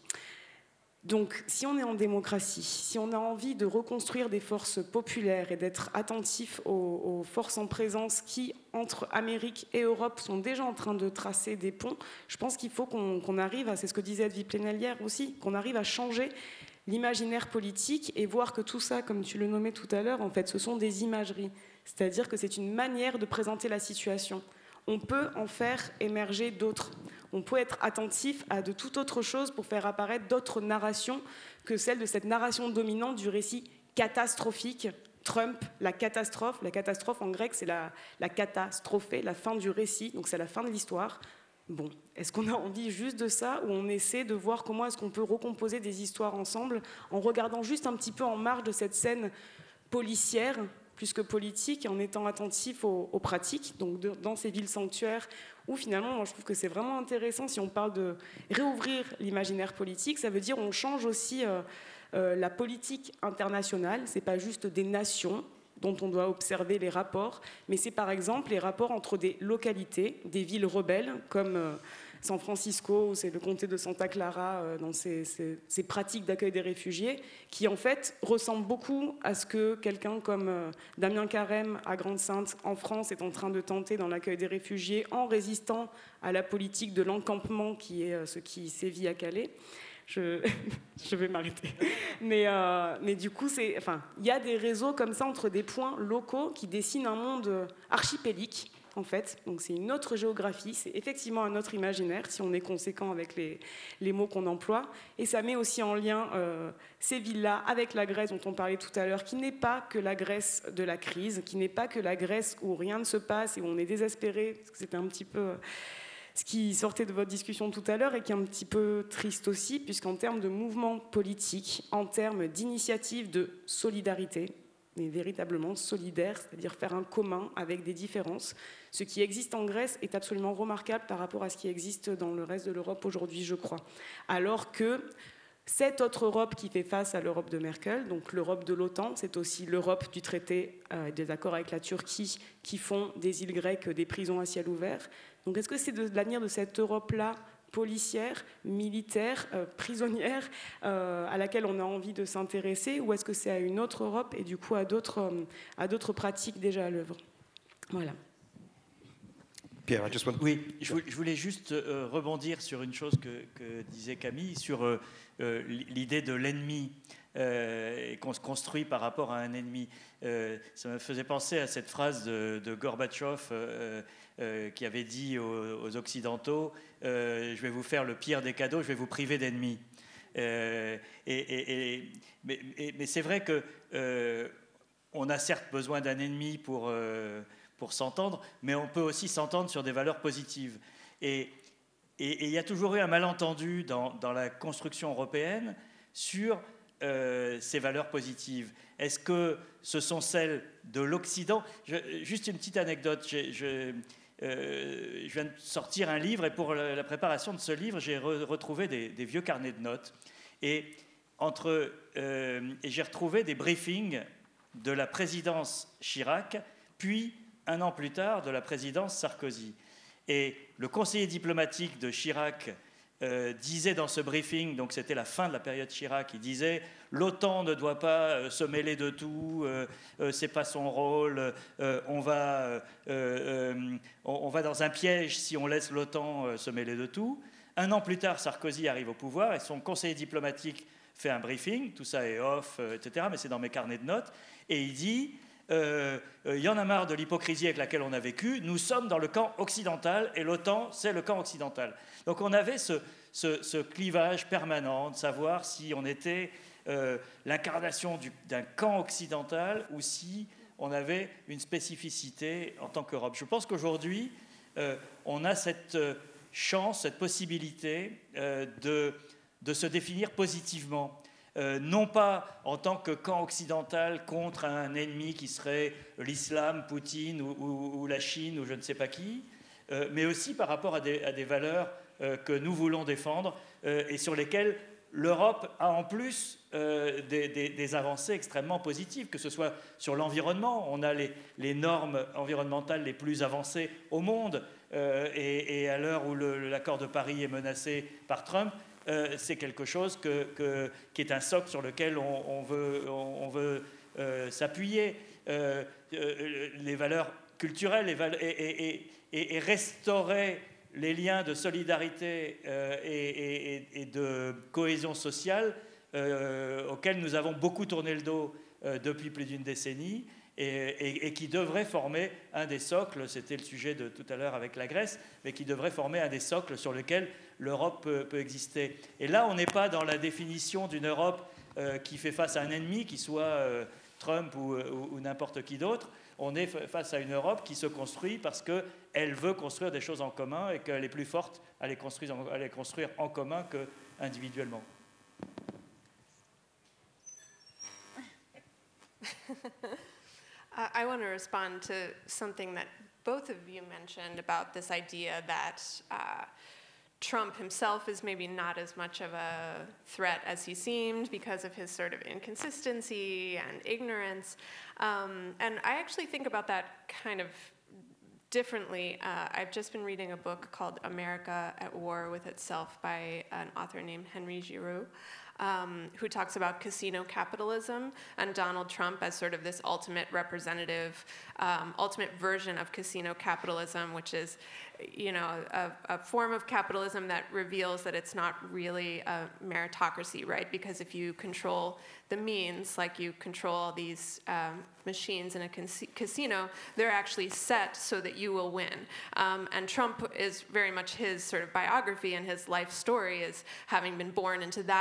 Speaker 4: Donc, si on est en démocratie, si on a envie de reconstruire des forces populaires et d'être attentif aux, aux forces en présence qui, entre Amérique et Europe, sont déjà en train de tracer des ponts, je pense qu'il faut qu'on, qu'on arrive à, c'est ce que disait Edwy Plenel hier aussi, qu'on arrive à changer l'imaginaire politique et voir que tout ça, comme tu le nommais tout à l'heure, en fait, ce sont des imageries. C'est-à-dire que c'est une manière de présenter la situation. On peut en faire émerger d'autres. On peut être attentif à de toute autre chose pour faire apparaître d'autres narrations que celle de cette narration dominante du récit catastrophique. Trump, la catastrophe. La catastrophe en grec, c'est la, la catastrophée, la fin du récit, donc c'est la fin de l'histoire. Bon, est-ce qu'on a envie juste de ça ou on essaie de voir comment est-ce qu'on peut recomposer des histoires ensemble en regardant juste un petit peu en marge de cette scène policière plus que politique, en étant attentif aux, aux pratiques, donc de, dans ces villes sanctuaires, où finalement, moi, je trouve que c'est vraiment intéressant, si on parle de réouvrir l'imaginaire politique, ça veut dire on change aussi euh, euh, la politique internationale, c'est pas juste des nations dont on doit observer les rapports, mais c'est par exemple les rapports entre des localités, des villes rebelles, comme euh, San Francisco, où c'est le comté de Santa Clara, euh, dans ses, ses, ses pratiques d'accueil des réfugiés, qui en fait ressemblent beaucoup à ce que quelqu'un comme euh, Damien Carême à Grande-Synthe, en France, est en train de tenter dans l'accueil des réfugiés, en résistant à la politique de l'encampement, qui est euh, ce qui sévit à Calais. Je, je vais m'arrêter. Mais, euh, mais du coup, c'est, enfin, il y a des réseaux comme ça entre des points locaux qui dessinent un monde archipélique, en fait. Donc c'est une autre géographie, c'est effectivement un autre imaginaire, si on est conséquent avec les, les mots qu'on emploie. Et ça met aussi en lien euh, ces villes-là avec la Grèce dont on parlait tout à l'heure, qui n'est pas que la Grèce de la crise, qui n'est pas que la Grèce où rien ne se passe et où on est désespéré, parce que c'était un petit peu ce qui sortait de votre discussion tout à l'heure et qui est un petit peu triste aussi, puisqu'en termes de mouvement politique, en termes d'initiative de solidarité, mais véritablement solidaire, c'est-à-dire faire un commun avec des différences. Ce qui existe en Grèce est absolument remarquable par rapport à ce qui existe dans le reste de l'Europe aujourd'hui, je crois. Alors que cette autre Europe qui fait face à l'Europe de Merkel, donc l'Europe de l'OTAN, c'est aussi l'Europe du traité euh, des accords avec la Turquie qui font des îles grecques des prisons à ciel ouvert. Donc est-ce que c'est de l'avenir de cette Europe-là, policière, militaire, euh, prisonnière, euh, à laquelle on a envie de s'intéresser, ou est-ce que c'est à une autre Europe et du coup à d'autres, euh, à d'autres pratiques déjà à l'œuvre? Voilà.
Speaker 1: Pierre, I just want...
Speaker 3: Oui, je voulais juste euh, rebondir sur une chose que, que disait Camille, sur euh, euh, l'idée de l'ennemi, euh, et qu'on se construit par rapport à un ennemi. Euh, ça me faisait penser à cette phrase de, de Gorbatchev euh, euh, qui avait dit aux, aux Occidentaux euh, « Je vais vous faire le pire des cadeaux, je vais vous priver d'ennemis euh, ». Et, et, et, mais, et, mais c'est vrai que euh, on a certes besoin d'un ennemi pour... Euh, pour s'entendre, mais on peut aussi s'entendre sur des valeurs positives. Et il y a toujours eu un malentendu dans, dans la construction européenne sur euh, ces valeurs positives. Est-ce que ce sont celles de l'Occident? je, Juste une petite anecdote. Je, je, euh, je viens de sortir un livre, et pour la, la préparation de ce livre, j'ai re, retrouvé des, des vieux carnets de notes. Et, entre, euh, et j'ai retrouvé des briefings de la présidence Chirac, puis un an plus tard, de la présidence Sarkozy. Et le conseiller diplomatique de Chirac euh, disait dans ce briefing, donc c'était la fin de la période Chirac, il disait « l'OTAN ne doit pas euh, se mêler de tout, euh, euh, c'est pas son rôle, euh, on, va, euh, euh, on, on va dans un piège si on laisse l'OTAN euh, se mêler de tout ». Un an plus tard, Sarkozy arrive au pouvoir et son conseiller diplomatique fait un briefing, tout ça est off, euh, et cetera, mais c'est dans mes carnets de notes, et il dit... Il euh, euh, y en a marre de l'hypocrisie avec laquelle on a vécu. Nous sommes dans le camp occidental et l'OTAN, c'est le camp occidental. Donc on avait ce, ce, ce clivage permanent de savoir si on était euh, l'incarnation d'un camp occidental ou si on avait une spécificité en tant qu'Europe. Je pense qu'aujourd'hui, euh, on a cette chance, cette possibilité euh, de, de se définir positivement. Euh, non pas en tant que camp occidental contre un ennemi qui serait l'islam, Poutine ou, ou, ou la Chine ou je ne sais pas qui, euh, mais aussi par rapport à des, à des valeurs euh, que nous voulons défendre euh, et sur lesquelles l'Europe a en plus euh, des, des, des avancées extrêmement positives, que ce soit sur l'environnement. On a les, les normes environnementales les plus avancées au monde euh, et, et à l'heure où l'accord de Paris est menacé par Trump, Euh, c'est quelque chose que, que, qui est un socle sur lequel on, on veut, on, on veut euh, s'appuyer. Euh, euh, les valeurs culturelles les val et, et, et, et restaurer les liens de solidarité euh, et, et, et de cohésion sociale euh, auxquels nous avons beaucoup tourné le dos euh, depuis plus d'une décennie et, et, et qui devraient former un des socles, c'était le sujet de tout à l'heure avec la Grèce, mais qui devraient former un des socles sur lesquels l'Europe peut, peut exister. Et là, on n'est pas dans la définition d'une Europe euh, qui fait face à un ennemi, qui soit euh, Trump ou, ou, ou n'importe qui d'autre. On est face à une Europe qui se construit parce qu'elle veut construire des choses en commun et qu'elle est plus forte à les construire en, à les construire en commun qu'individuellement.
Speaker 2: uh, I want to respond to something that both of you mentioned about this idea that uh, Trump himself is maybe not as much of a threat as he seemed because of his sort of inconsistency and ignorance. Um, and I actually think about that kind of differently. Uh, I've just been reading a book called America at War with Itself by an author named Henry Giroux, um, who talks about casino capitalism and Donald Trump as sort of this ultimate representative, um, ultimate version of casino capitalism, which is, you know, a, a form of capitalism that reveals that it's not really a meritocracy, right? Because if you control the means, like you control these um, machines in a casino, they're actually set so that you will win. Um, and Trump is very much his sort of biography and his life story is having been born into that form of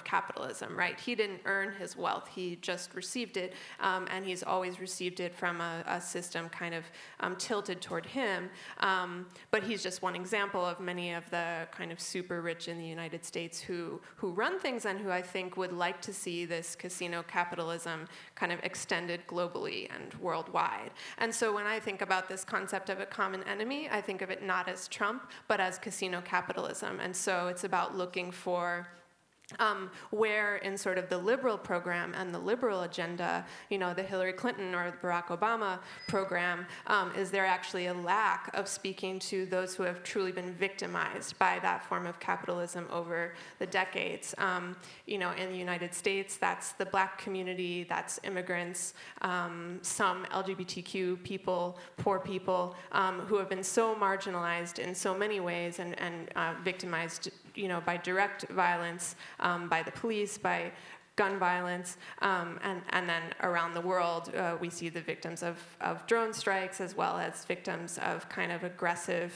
Speaker 2: capitalism, right? He didn't earn his wealth, he just received it, um, and he's always received it from a, a system kind of um, tilted toward him. Um, but he's just one example of many of the kind of super rich in the United States who, who run things and who I think would like to see this casino capitalism kind of extended globally and worldwide. And so when I think about this concept of a common enemy, I think of it not as Trump, but as casino capitalism. And so it's about looking for Um, where in sort of the liberal program and the liberal agenda, you know, the Hillary Clinton or the Barack Obama program, um, is there actually a lack of speaking to those who have truly been victimized by that form of capitalism over the decades? Um, you know, in the United States, that's the black community, that's immigrants, um, some L G B T Q people, poor people, um, who have been so marginalized in so many ways and, and uh, victimized, you know, by direct violence, um, by the police, by gun violence, um, and, and then around the world, uh, we see the victims of, of drone strikes as well as victims of kind of aggressive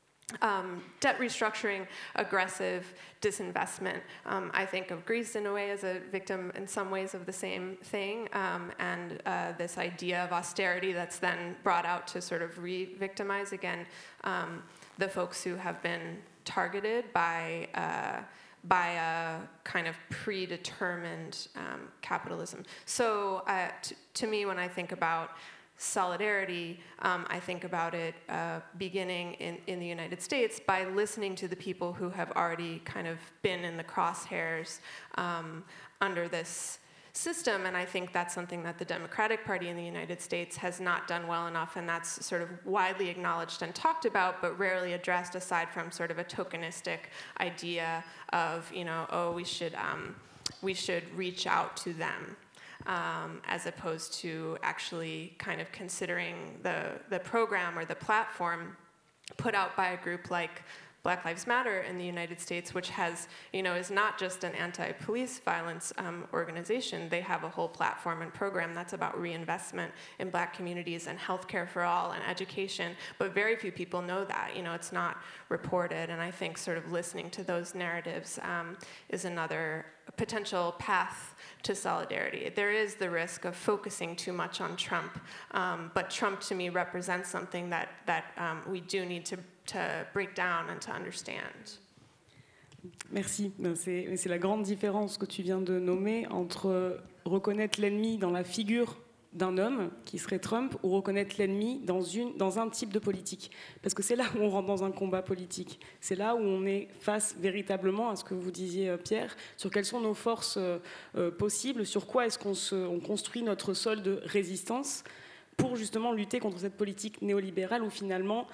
Speaker 2: um, debt restructuring, aggressive disinvestment. Um, I think of Greece in a way as a victim in some ways of the same thing, um, and uh, this idea of austerity that's then brought out to sort of re-victimize again um, the folks who have been targeted by uh, by a kind of predetermined um, capitalism. So uh, t- to me, when I think about solidarity, um, I think about it uh, beginning in, in the United States by listening to the people who have already kind of been in the crosshairs um, under this system, and I think that's something that the Democratic Party in the United States has not done well enough, and that's sort of widely acknowledged and talked about, but rarely addressed aside from sort of a tokenistic idea of, you know, oh, we should, um, we should reach out to them, um, as opposed to actually kind of considering the, the program or the platform put out by a group like Black Lives Matter in the United States, which has, you know, is not just an anti-police violence um, organization. They have a whole platform and program that's about reinvestment in black communities and healthcare for all and education, but very few people know that. You know, it's not reported, and I think sort of listening to those narratives um, is another potential path to solidarity. There is the risk of focusing too much on Trump, um, but Trump to me represents something that, that um, we do need to to break down and to understand.
Speaker 4: Merci. C'est, c'est la grande différence que tu viens de nommer entre reconnaître l'ennemi dans la figure d'un homme, qui serait Trump, ou reconnaître l'ennemi dans, une, dans un type de politique. Parce que c'est là où on rentre dans un combat politique. C'est là où on est face véritablement à ce que vous disiez, Pierre, sur quelles sont nos forces euh, possibles, sur quoi est-ce qu'on se, on construit notre sol de résistance pour justement lutter contre cette politique néolibérale où finalement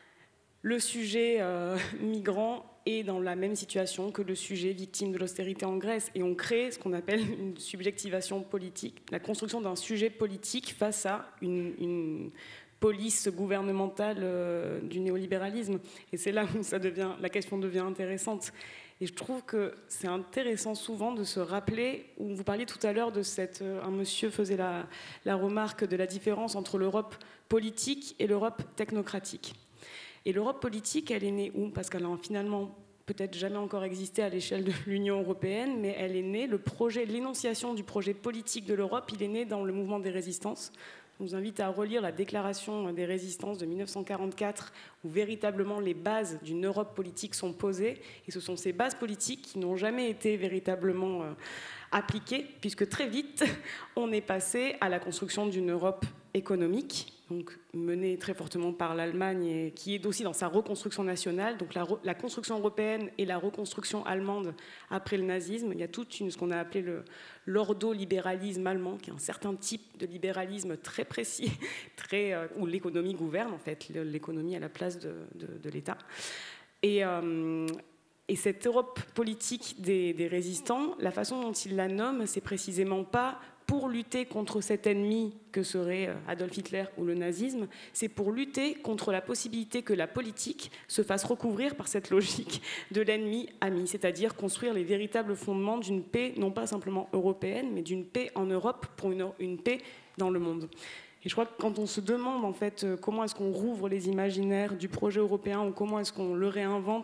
Speaker 4: le sujet euh, migrant est dans la même situation que le sujet victime de l'austérité en Grèce. Et on crée ce qu'on appelle une subjectivation politique, la construction d'un sujet politique face à une, une police gouvernementale euh, du néolibéralisme. Et c'est là où ça devient, la question devient intéressante. Et je trouve que c'est intéressant souvent de se rappeler, où vous parliez tout à l'heure de cette... Euh, un monsieur faisait la, la remarque de la différence entre l'Europe politique et l'Europe technocratique. Et l'Europe politique, elle est née où? Parce qu'elle a finalement peut-être jamais encore existé à l'échelle de l'Union européenne, mais elle est née, le projet, l'énonciation du projet politique de l'Europe, il est né dans le mouvement des résistances. Je vous invite à relire la déclaration des résistances de mille neuf cent quarante-quatre, où véritablement les bases d'une Europe politique sont posées. Et ce sont ces bases politiques qui n'ont jamais été véritablement euh, appliquées, puisque très vite, on est passé à la construction d'une Europe économique, donc menée très fortement par l'Allemagne, et qui est aussi dans sa reconstruction nationale, donc la, la construction européenne et la reconstruction allemande après le nazisme. Il y a toute une, ce qu'on a appelé le, l'ordolibéralisme allemand, qui est un certain type de libéralisme très précis, très, euh, où l'économie gouverne, en fait, l'économie à la place de, de, de l'État. Et, euh, et cette Europe politique des, des résistants, la façon dont ils la nomment, c'est précisément pas pour lutter contre cet ennemi que serait Adolf Hitler ou le nazisme, c'est pour lutter contre la possibilité que la politique se fasse recouvrir par cette logique de l'ennemi ami, c'est-à-dire construire les véritables fondements d'une paix, non pas simplement européenne, mais d'une paix en Europe pour une, une paix dans le monde. Et je crois que quand on se demande en fait comment est-ce qu'on rouvre les imaginaires du projet européen ou comment est-ce qu'on le réinvente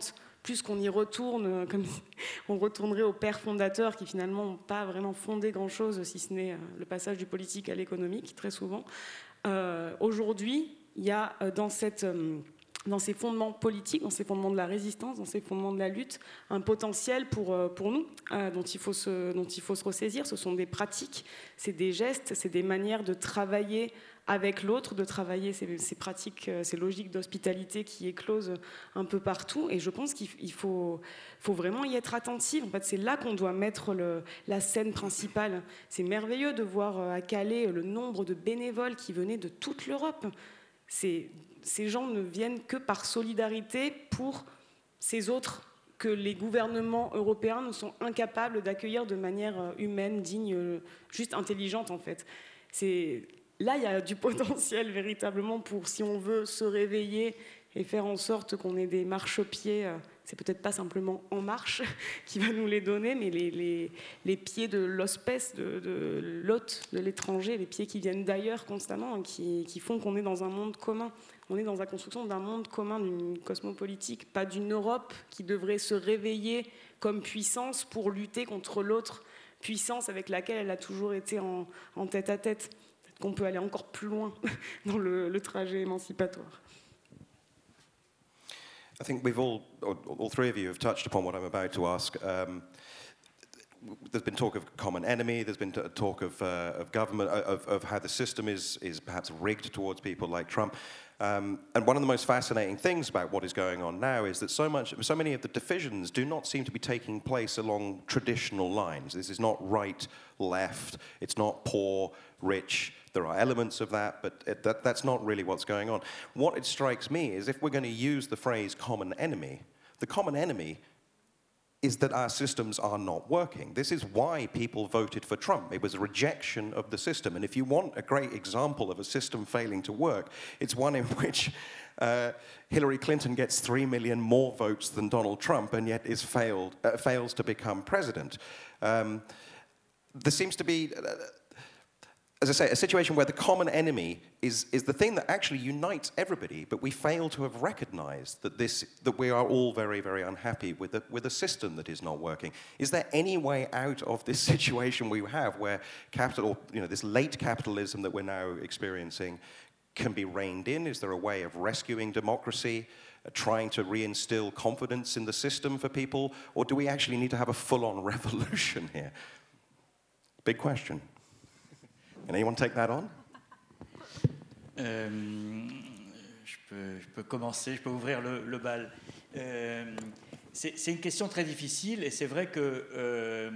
Speaker 4: plus qu'on y retourne, comme on retournerait aux pères fondateurs qui finalement n'ont pas vraiment fondé grand-chose, si ce n'est le passage du politique à l'économique, très souvent. Euh, aujourd'hui, il y a dans cette... dans ces fondements politiques, dans ces fondements de la résistance, dans ces fondements de la lutte, un potentiel pour, pour nous, euh, dont, il faut se, dont il faut se ressaisir. Ce sont des pratiques, c'est des gestes, c'est des manières de travailler avec l'autre, de travailler ces, ces pratiques, ces logiques d'hospitalité qui éclosent un peu partout. Et je pense qu'il faut, faut vraiment y être attentif. En fait, c'est là qu'on doit mettre le, la scène principale. C'est merveilleux de voir à Calais le nombre de bénévoles qui venaient de toute l'Europe. C'est... Ces gens ne viennent que par solidarité pour ces autres que les gouvernements européens ne sont incapables d'accueillir de manière humaine, digne, juste intelligente en fait. C'est... Là, il y a du potentiel véritablement pour, si on veut se réveiller et faire en sorte qu'on ait des marchepieds. C'est peut-être pas simplement En Marche qui va nous les donner, mais les, les, les pieds de l'hospès, de, de l'hôte, de l'étranger, les pieds qui viennent d'ailleurs constamment, qui, qui font qu'on est dans un monde commun. On est dans la construction d'un monde commun, d'une cosmopolitique, pas d'une Europe qui devrait se réveiller comme puissance pour lutter contre l'autre puissance avec laquelle elle a toujours été en, en tête à tête. Peut-être qu'on peut aller encore plus loin dans le, le trajet émancipatoire.
Speaker 1: I think we've all, all three of you have touched upon what I'm about to ask. Um, there's been talk of common enemy, there's been talk of, uh, of government, of, of how the system is, is perhaps rigged towards people like Trump. Um, and one of the most fascinating things about what is going on now is that so much, so many of the divisions do not seem to be taking place along traditional lines. This is not right, left, it's not poor, rich. There are elements of that, but it, that, that's not really what's going on. What it strikes me is if we're going to use the phrase common enemy, the common enemy is that our systems are not working. This is why people voted for Trump. It was a rejection of the system. And if you want a great example of a system failing to work, it's one in which uh, Hillary Clinton gets three million more votes than Donald Trump and yet is failed, uh, fails to become president. Um, there seems to be... Uh, As I say, a situation where the common enemy is, is the thing that actually unites everybody, but we fail to have recognized that, this, that we are all very, very unhappy with a, with a system that is not working. Is there any way out of this situation we have where capital, you know, this late capitalism that we're now experiencing can be reined in? Is there a way of rescuing democracy, uh, trying to reinstill confidence in the system for people? Or do we actually need to have a full-on revolution here? Big question. Can anyone take that on?
Speaker 3: euh, je, peux, je peux commencer, je peux ouvrir le, le bal. Euh, c'est, c'est une question très difficile et c'est vrai qu'il euh,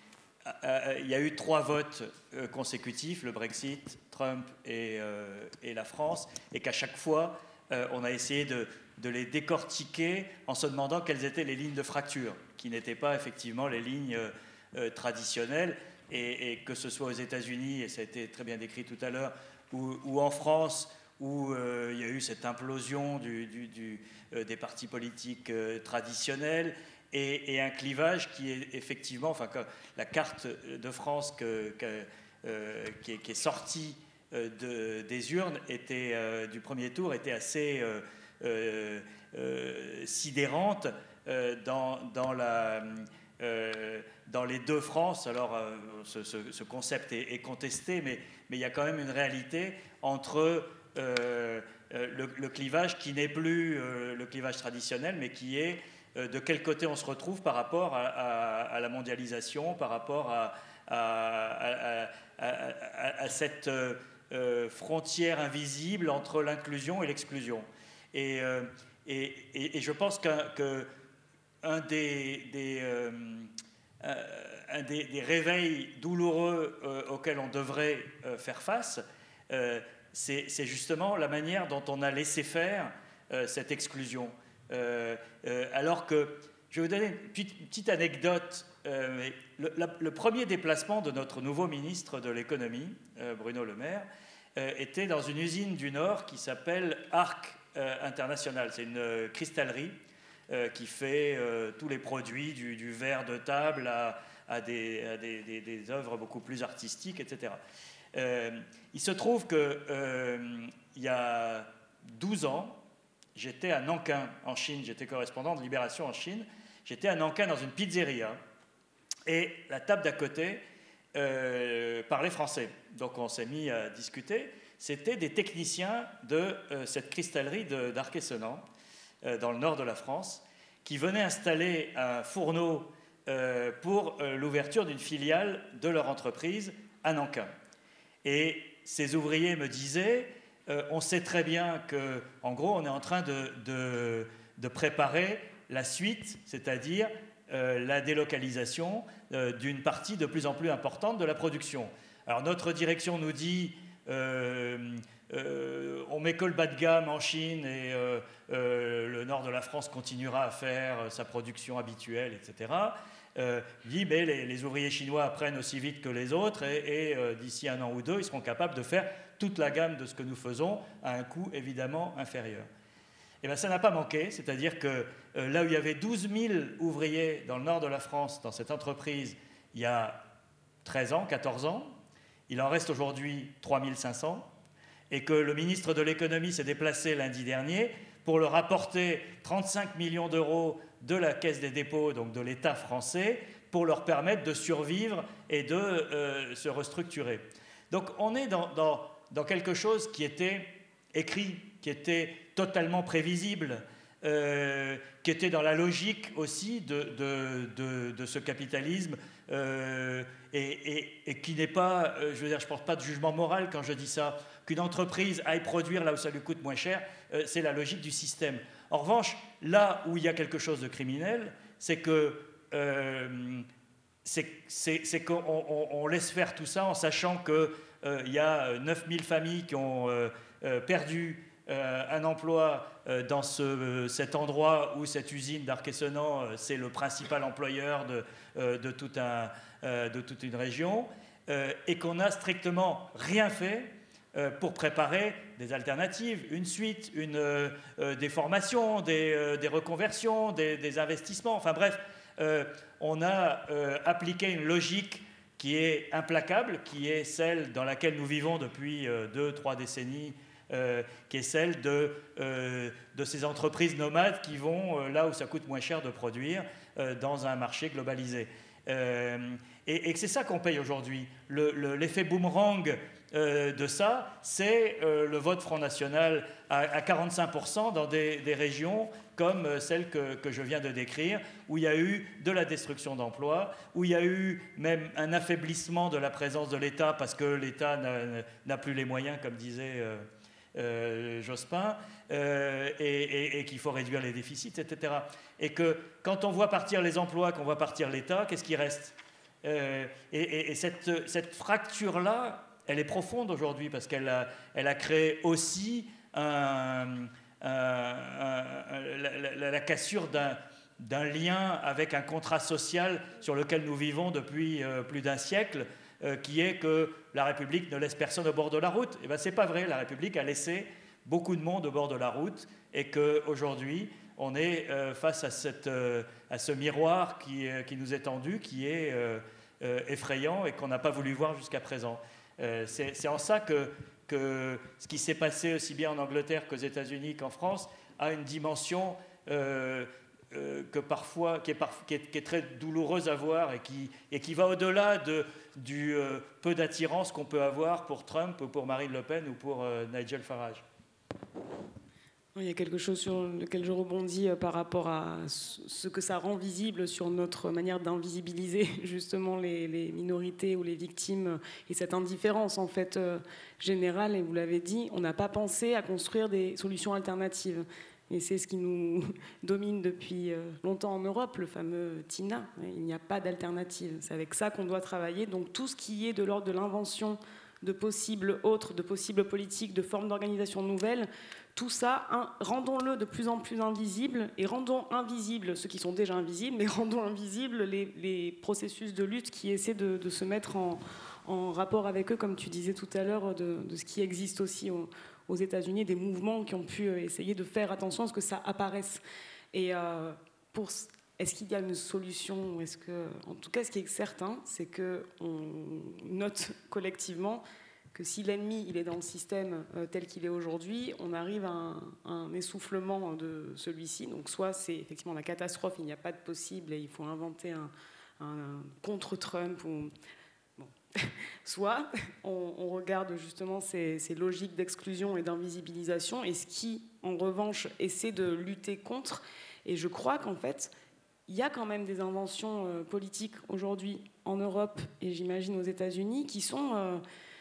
Speaker 3: y a eu trois votes euh, consécutifs, le Brexit, Trump et, euh, et la France, et qu'à chaque fois, euh, on a essayé de, de les décortiquer en se demandant quelles étaient les lignes de fracture, qui n'étaient pas effectivement les lignes euh, traditionnelles. Et, et que ce soit aux États-Unis, et ça a été très bien décrit tout à l'heure, ou, ou en France, où euh, il y a eu cette implosion du, du, du, euh, des partis politiques euh, traditionnels, et, et un clivage qui est effectivement, enfin, que la carte de France que, que, euh, qui, est, qui est sortie euh, de, des urnes était, euh, du premier tour était assez euh, euh, euh, sidérante euh, dans, dans la... Euh, dans les deux France, alors euh, ce, ce, ce concept est, est contesté, mais, mais il y a quand même une réalité entre euh, le, le clivage qui n'est plus euh, le clivage traditionnel, mais qui est euh, de quel côté on se retrouve par rapport à, à, à la mondialisation, par rapport à, à, à, à, à cette euh, frontière invisible entre l'inclusion et l'exclusion. Et, euh, et, et, et je pense qu'un... que un des, des, euh, un des, des réveils douloureux euh, auxquels on devrait euh, faire face, euh, c'est, c'est justement la manière dont on a laissé faire euh, cette exclusion. Euh, euh, alors que, je vais vous donner une petite, une petite anecdote. Euh, le, la, le premier déplacement de notre nouveau ministre de l'économie, euh, Bruno Le Maire, euh, était dans une usine du Nord qui s'appelle Arc euh, International. C'est une euh, cristallerie Euh, qui fait euh, tous les produits, du, du verre de table à, à, des, à des, des, des œuvres beaucoup plus artistiques, et cetera. Euh, il se trouve qu'il euh, y a douze ans, j'étais à Nankin, en Chine. J'étais correspondant de Libération en Chine. J'étais à Nankin dans une pizzeria. Et la table d'à côté euh, parlait français. Donc on s'est mis à discuter. C'était des techniciens de euh, cette cristallerie d'Arc-et-Senans, euh, dans le nord de la France, qui venaient installer un fourneau euh, pour euh, l'ouverture d'une filiale de leur entreprise à Nankin. Et ces ouvriers me disaient, euh, on sait très bien qu'en gros, on est en train de, de, de préparer la suite, c'est-à-dire euh, la délocalisation euh, d'une partie de plus en plus importante de la production. Alors notre direction nous dit, euh, euh, on met que le bas de gamme en Chine et euh, euh, le nord de la France continuera à faire sa production habituelle, et cetera. Euh, dit, mais les, les ouvriers chinois apprennent aussi vite que les autres et, et euh, d'ici un an ou deux, ils seront capables de faire toute la gamme de ce que nous faisons à un coût évidemment inférieur. Et bien ça n'a pas manqué, c'est-à-dire que euh, là où il y avait douze mille ouvriers dans le nord de la France, dans cette entreprise, il y a treize ans, quatorze ans, il en reste aujourd'hui trois mille cinq cents, et que le ministre de l'économie s'est déplacé lundi dernier pour leur apporter trente-cinq millions d'euros de la Caisse des dépôts, donc de l'État français, pour leur permettre de survivre et de euh, se restructurer. Donc on est dans, dans, dans quelque chose qui était écrit, qui était totalement prévisible, euh, qui était dans la logique aussi de, de, de, de ce capitalisme, euh, et, et, et qui n'est pas, euh, je veux dire, je ne porte pas de jugement moral quand je dis ça, qu'une entreprise aille produire là où ça lui coûte moins cher, euh, c'est la logique du système. En revanche, là où il y a quelque chose de criminel, c'est que euh, c'est qu'on on, on laisse faire tout ça en sachant qu'il euh, y a neuf mille familles qui ont euh, euh, perdu euh, un emploi euh, dans ce, euh, cet endroit où cette usine d'Arc-et-Senans, euh, c'est le principal employeur de, euh, de, tout un, euh, de toute une région, euh, et qu'on n'a strictement rien fait pour préparer des alternatives, une suite, une, euh, des formations, des, euh, des reconversions, des, des investissements. Enfin bref, euh, on a euh, appliqué une logique qui est implacable, qui est celle dans laquelle nous vivons depuis euh, deux, trois décennies, euh, qui est celle de, euh, de ces entreprises nomades qui vont euh, là où ça coûte moins cher de produire, euh, dans un marché globalisé. Euh, et, et c'est ça qu'on paye aujourd'hui. Le, le, l'effet boomerang Euh, de ça, c'est euh, le vote Front National à, à quarante-cinq pour cent dans des, des régions comme euh, celle que, que je viens de décrire, où il y a eu de la destruction d'emplois, où il y a eu même un affaiblissement de la présence de l'État parce que l'État n'a, n'a plus les moyens, comme disait euh, euh, Jospin, euh, et, et, et qu'il faut réduire les déficits, et cetera. Et que quand on voit partir les emplois, qu'on voit partir l'État, qu'est-ce qui reste ? euh, Et, et, et cette, cette fracture-là, elle est profonde aujourd'hui parce qu'elle a, elle a créé aussi un, un, un, la, la, la cassure d'un, d'un lien avec un contrat social sur lequel nous vivons depuis euh, plus d'un siècle, euh, qui est que la République ne laisse personne au bord de la route. Eh bien, c'est pas vrai. La République a laissé beaucoup de monde au bord de la route et qu'aujourd'hui, on est euh, face à, cette, euh, à ce miroir qui, euh, qui nous est tendu, qui est euh, euh, effrayant et qu'on n'a pas voulu voir jusqu'à présent. Euh, c'est, c'est en ça que, que ce qui s'est passé aussi bien en Angleterre qu'aux États-Unis qu'en France a une dimension euh, euh, que parfois, qui, est par, qui, est, qui est très douloureuse à voir et qui, et qui va au-delà de, du euh, peu d'attirance qu'on peut avoir pour Trump ou pour Marine Le Pen ou pour euh, Nigel Farage.
Speaker 4: Il y a quelque chose sur lequel je rebondis par rapport à ce que ça rend visible sur notre manière d'invisibiliser justement les, les minorités ou les victimes et cette indifférence en fait euh, générale. Et vous l'avez dit, on n'a pas pensé à construire des solutions alternatives. Et c'est ce qui nous domine depuis longtemps en Europe, le fameux TINA. Il n'y a pas d'alternative. C'est avec ça qu'on doit travailler. Donc tout ce qui est de l'ordre de l'invention de possibles autres, de possibles politiques, de formes d'organisation nouvelles, tout ça, hein, rendons-le de plus en plus invisible et rendons invisibles ceux qui sont déjà invisibles, mais rendons invisibles les, les processus de lutte qui essaient de, de se mettre en, en rapport avec eux, comme tu disais tout à l'heure, de, de ce qui existe aussi au, aux États-Unis, des mouvements qui ont pu essayer de faire attention à ce que ça apparaisse. Et euh, pour, est-ce qu'il y a une solution ? Est-ce que, en tout cas, ce qui est certain, c'est qu'on note collectivement que si l'ennemi il est dans le système euh, tel qu'il est aujourd'hui, on arrive à un, un essoufflement de celui-ci. Donc soit c'est effectivement la catastrophe, il n'y a pas de possible et il faut inventer un, un, un contre-Trump, ou, bon. soit on, on regarde justement ces, ces logiques d'exclusion et d'invisibilisation, et ce qui en revanche essaie de lutter contre. Et je crois qu'en fait, il y a quand même des inventions euh, politiques aujourd'hui en Europe et j'imagine aux États-Unis qui sont... Euh,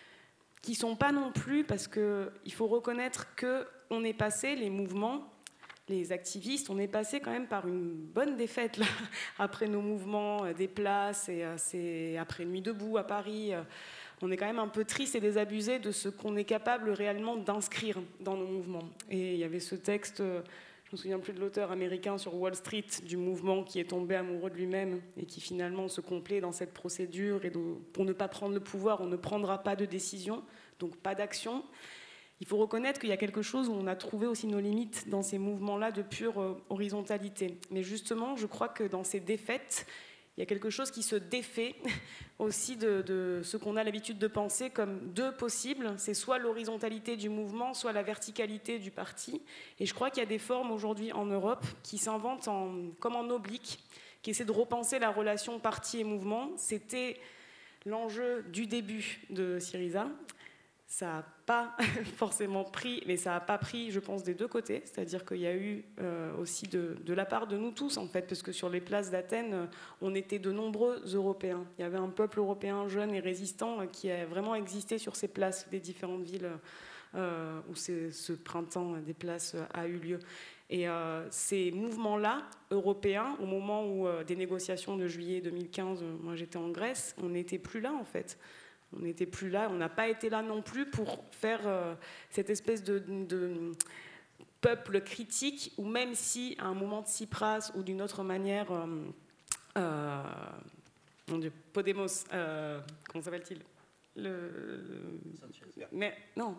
Speaker 4: qui ne sont pas non plus, parce qu'il faut reconnaître qu'on est passé, les mouvements, les activistes, on est passé quand même par une bonne défaite là, après nos mouvements des places, et euh, c'est après Nuit debout à Paris, euh, on est quand même un peu triste et désabusé de ce qu'on est capable réellement d'inscrire dans nos mouvements. Et il y avait ce texte, euh, je ne me souviens plus de l'auteur américain, sur Wall Street, du mouvement qui est tombé amoureux de lui-même et qui finalement se complaît dans cette procédure. Et donc, pour ne pas prendre le pouvoir, on ne prendra pas de décision, donc pas d'action. Il faut reconnaître qu'il y a quelque chose où on a trouvé aussi nos limites dans ces mouvements-là de pure euh, horizontalité. Mais justement, je crois que dans ces défaites, il y a quelque chose qui se défait aussi de, de ce qu'on a l'habitude de penser comme deux possibles. C'est soit l'horizontalité du mouvement, soit la verticalité du parti. Et je crois qu'il y a des formes aujourd'hui en Europe qui s'inventent en, comme en oblique, qui essaient de repenser la relation parti et mouvement. C'était l'enjeu du début de Syriza. Ça n'a pas forcément pris, mais ça n'a pas pris, je pense, des deux côtés. C'est-à-dire qu'il y a eu euh, aussi de, de la part de nous tous, en fait, parce que sur les places d'Athènes, on était de nombreux Européens. Il y avait un peuple européen jeune et résistant qui a vraiment existé sur ces places des différentes villes euh, où ce printemps des places a eu lieu. Et euh, ces mouvements-là, européens, au moment où euh, des négociations de juillet deux mille quinze, moi j'étais en Grèce, on n'était plus là, en fait. On n'était plus là, on n'a pas été là non plus pour faire euh, cette espèce de, de peuple critique, ou même si à un moment de Tsipras ou d'une autre manière, euh, euh, mon Dieu, Podemos, euh, comment s'appelle-t-il le, le, mais non.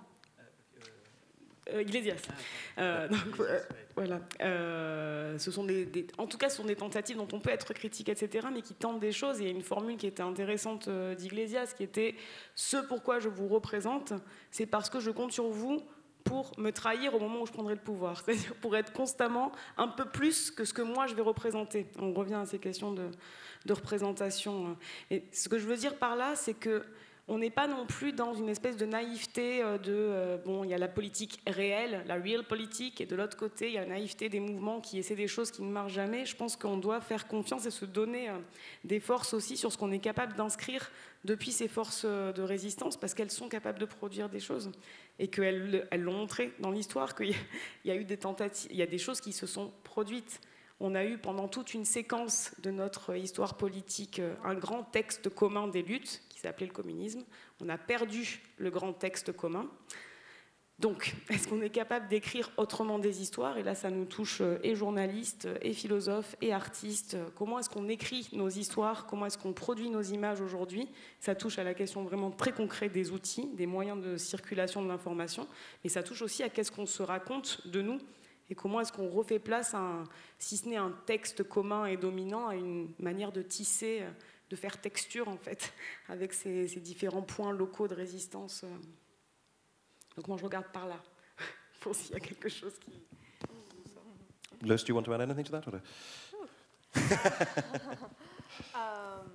Speaker 4: Euh, Iglesias. Euh, donc, euh, voilà. Euh, ce sont des, des, en tout cas, ce sont des tentatives dont on peut être critique, et cetera, mais qui tentent des choses. Et il y a une formule qui était intéressante euh, d'Iglesias, qui était « Ce pourquoi je vous représente, c'est parce que je compte sur vous pour me trahir au moment où je prendrai le pouvoir. » C'est-à-dire pour être constamment un peu plus que ce que moi je vais représenter. On revient à ces questions de, de représentation. Et ce que je veux dire par là, c'est que on n'est pas non plus dans une espèce de naïveté de, euh, bon, il y a la politique réelle, la real politique, et de l'autre côté, il y a la naïveté des mouvements qui essaient des choses qui ne marchent jamais. Je pense qu'on doit faire confiance et se donner euh, des forces aussi sur ce qu'on est capable d'inscrire depuis ces forces de résistance, parce qu'elles sont capables de produire des choses, et qu'elles elles l'ont montré dans l'histoire, qu'il y a eu des tentatives, il y a des choses qui se sont produites. On a eu pendant toute une séquence de notre histoire politique un grand texte commun des luttes qui s'appelait le communisme. On a perdu le grand texte commun. Donc, est-ce qu'on est capable d'écrire autrement des histoires ? Et là, ça nous touche et journalistes, et philosophes, et artistes. Comment est-ce qu'on écrit nos histoires ? Comment est-ce qu'on produit nos images aujourd'hui ? Ça touche à la question vraiment très concrète des outils, des moyens de circulation de l'information. Mais ça touche aussi à qu'est-ce qu'on se raconte de nous. Et comment est-ce qu'on refait place à, un, si ce n'est un texte commun et dominant, à une manière de tisser, de faire texture, en fait, avec ces, ces différents points locaux de résistance. Donc moi, je regarde par là, pour s'il y a quelque chose qui...
Speaker 1: Luce, do you want to add anything to that? Or
Speaker 2: um,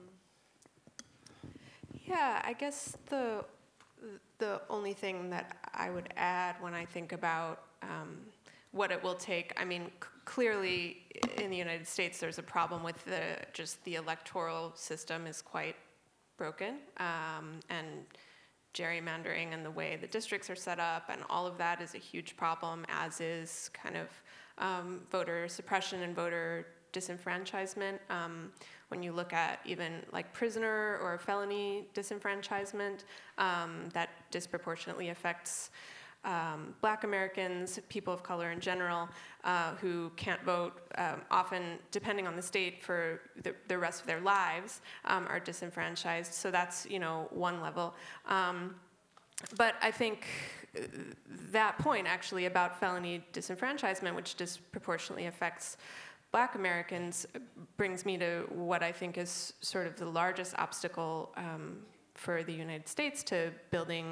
Speaker 2: yeah, I guess the, the only thing that I would add when I think about... Um, what it will take. I mean, c- clearly in the United States, there's a problem with the just the electoral system is quite broken, um, and gerrymandering and the way the districts are set up, and all of that is a huge problem, as is kind of um, voter suppression and voter disenfranchisement. Um, when you look at even like prisoner or felony disenfranchisement, um, that disproportionately affects Um, Black Americans, people of color in general, uh, who can't vote, um, often, depending on the state, for the, the rest of their lives, um, are disenfranchised. So that's, you know, one level. Um, but I think that point, actually, about felony disenfranchisement, which disproportionately affects Black Americans, brings me to what I think is sort of the largest obstacle um, for the United States to building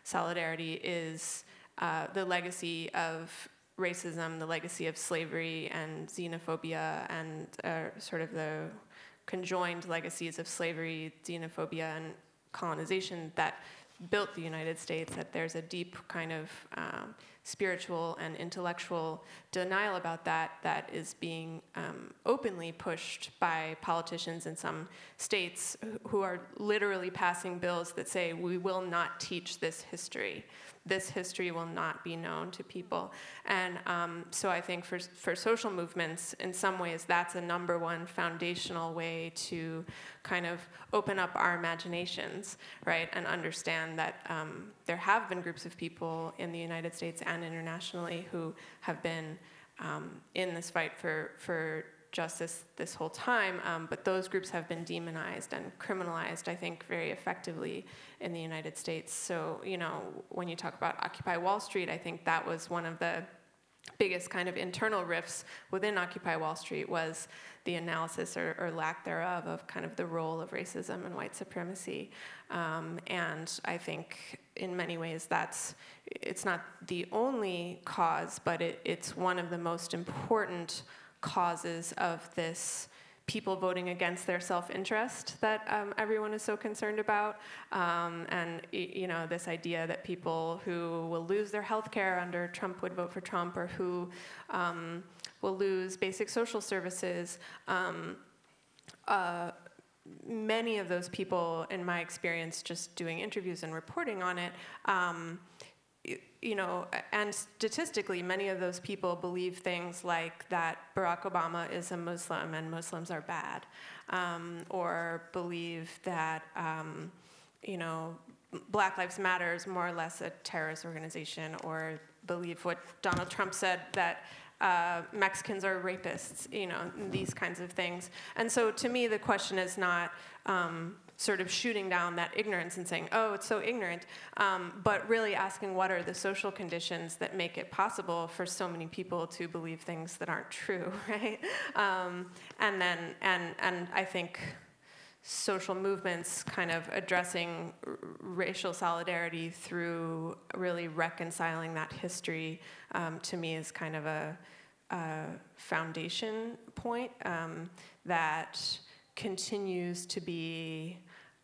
Speaker 2: solidarity is uh, the legacy of racism, the legacy of slavery and xenophobia, and uh, sort of the conjoined legacies of slavery, xenophobia, and colonization that built the United States, that there's a deep kind of um, spiritual and intellectual denial about that that is being um, openly pushed by politicians in some states who are literally passing bills that say, we will not teach this history. This history will not be known to people. And um, so I think for, for social movements, in some ways, that's a number one foundational way to kind of open up our imaginations, right? And understand that um, there have been groups of people in the United States and internationally who have been um, in this fight for, for justice this whole time, um, but those groups have been demonized and criminalized, I think, very effectively in the United States. So, you know, when you talk about Occupy Wall Street, I think that was one of the biggest kind of internal rifts within Occupy Wall Street, was the analysis or, or lack thereof of kind of the role of racism and white supremacy. Um, and I think in many ways that's, it's not the only cause, but it, it's one of the most important causes of this people voting against their self-interest that um, everyone is so concerned about, um, and you know, this idea that people who will lose their health care under Trump would vote for Trump, or who um, will lose basic social services. Um, uh, many of those people, in my experience, just doing interviews and reporting on it, um, you know, and statistically, many of those people believe things like that Barack Obama is a Muslim and Muslims are bad, um, or believe that, um, you know, Black Lives Matter is more or less a terrorist organization, or believe what Donald Trump said, that uh, Mexicans are rapists, you know, these kinds of things. And so to me, the question is not um, sort of shooting down that ignorance and saying, oh, it's so ignorant, um, but really asking what are the social conditions that make it possible for so many people to believe things that aren't true, right? Um, and then, and, and I think social movements kind of addressing r- racial solidarity through really reconciling that history, um, to me is kind of a, a foundation point um, that continues to be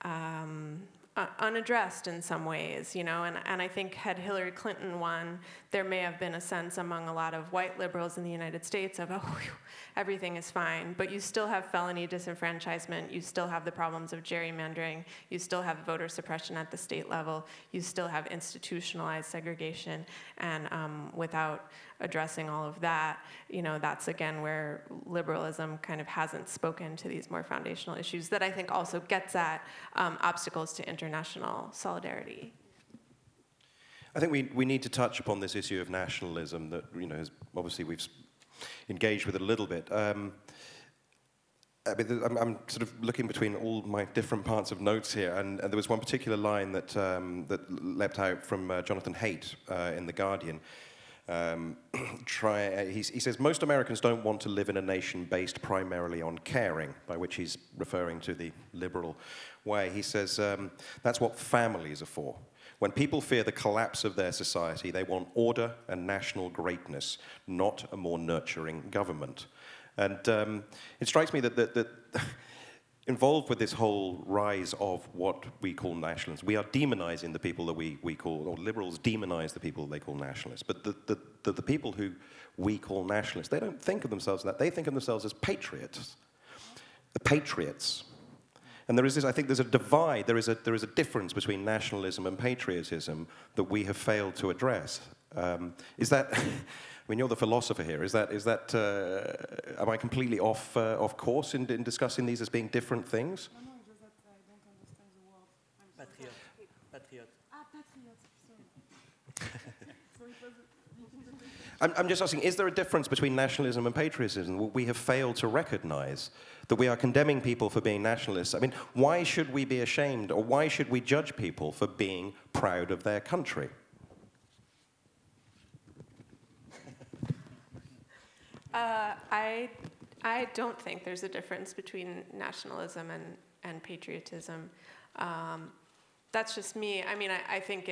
Speaker 2: um, uh, unaddressed in some ways, you know, and, and I think had Hillary Clinton won, there may have been a sense among a lot of white liberals in the United States of, oh, whew, everything is fine, but you still have felony disenfranchisement, you still have the problems of gerrymandering, you still have voter suppression at the state level, you still have institutionalized segregation, and um, without addressing all of that, you know, that's again where liberalism kind of hasn't spoken to these more foundational issues that I think also gets at um, obstacles to international solidarity.
Speaker 1: I think we, we need to touch upon this issue of nationalism that, you know, is obviously we've engaged with it a little bit. Um, I mean, I'm, I'm sort of looking between all my different parts of notes here, and, and there was one particular line that, um, that leapt out from uh, Jonathan Haidt uh, in The Guardian. Um, try, uh, he, he says, most Americans don't want to live in a nation based primarily on caring, by which he's referring to the liberal way. He says, um, that's what families are for. When people fear the collapse of their society, they want order and national greatness, not a more nurturing government. And um, it strikes me that, that, that involved with this whole rise of what we call nationalists, we are demonizing the people that we, we call, or liberals demonize the people they call nationalists. But the, the, the, the people who we call nationalists, they don't think of themselves as that. They think of themselves as patriots. The patriots. And there is this, I think there's a divide, there is a, there is a difference between nationalism and patriotism that we have failed to address. Um, is that, I mean, you're the philosopher here, is that, is that uh, am I completely off, uh, off course in, in discussing these as being different things?
Speaker 4: No, no, it's just that I don't understand the word. I'm so
Speaker 3: Patriot. Patriot.
Speaker 4: Ah, patriot, sorry. So it was...
Speaker 1: I'm, I'm just asking, is there a difference between nationalism and patriotism? We have failed to recognize that we are condemning people for being nationalists. I mean, why should we be ashamed, or why should we judge people for being proud of their country?
Speaker 2: Uh, I, I don't think there's a difference between nationalism and, and patriotism. Um, that's just me. I mean, I, I think it,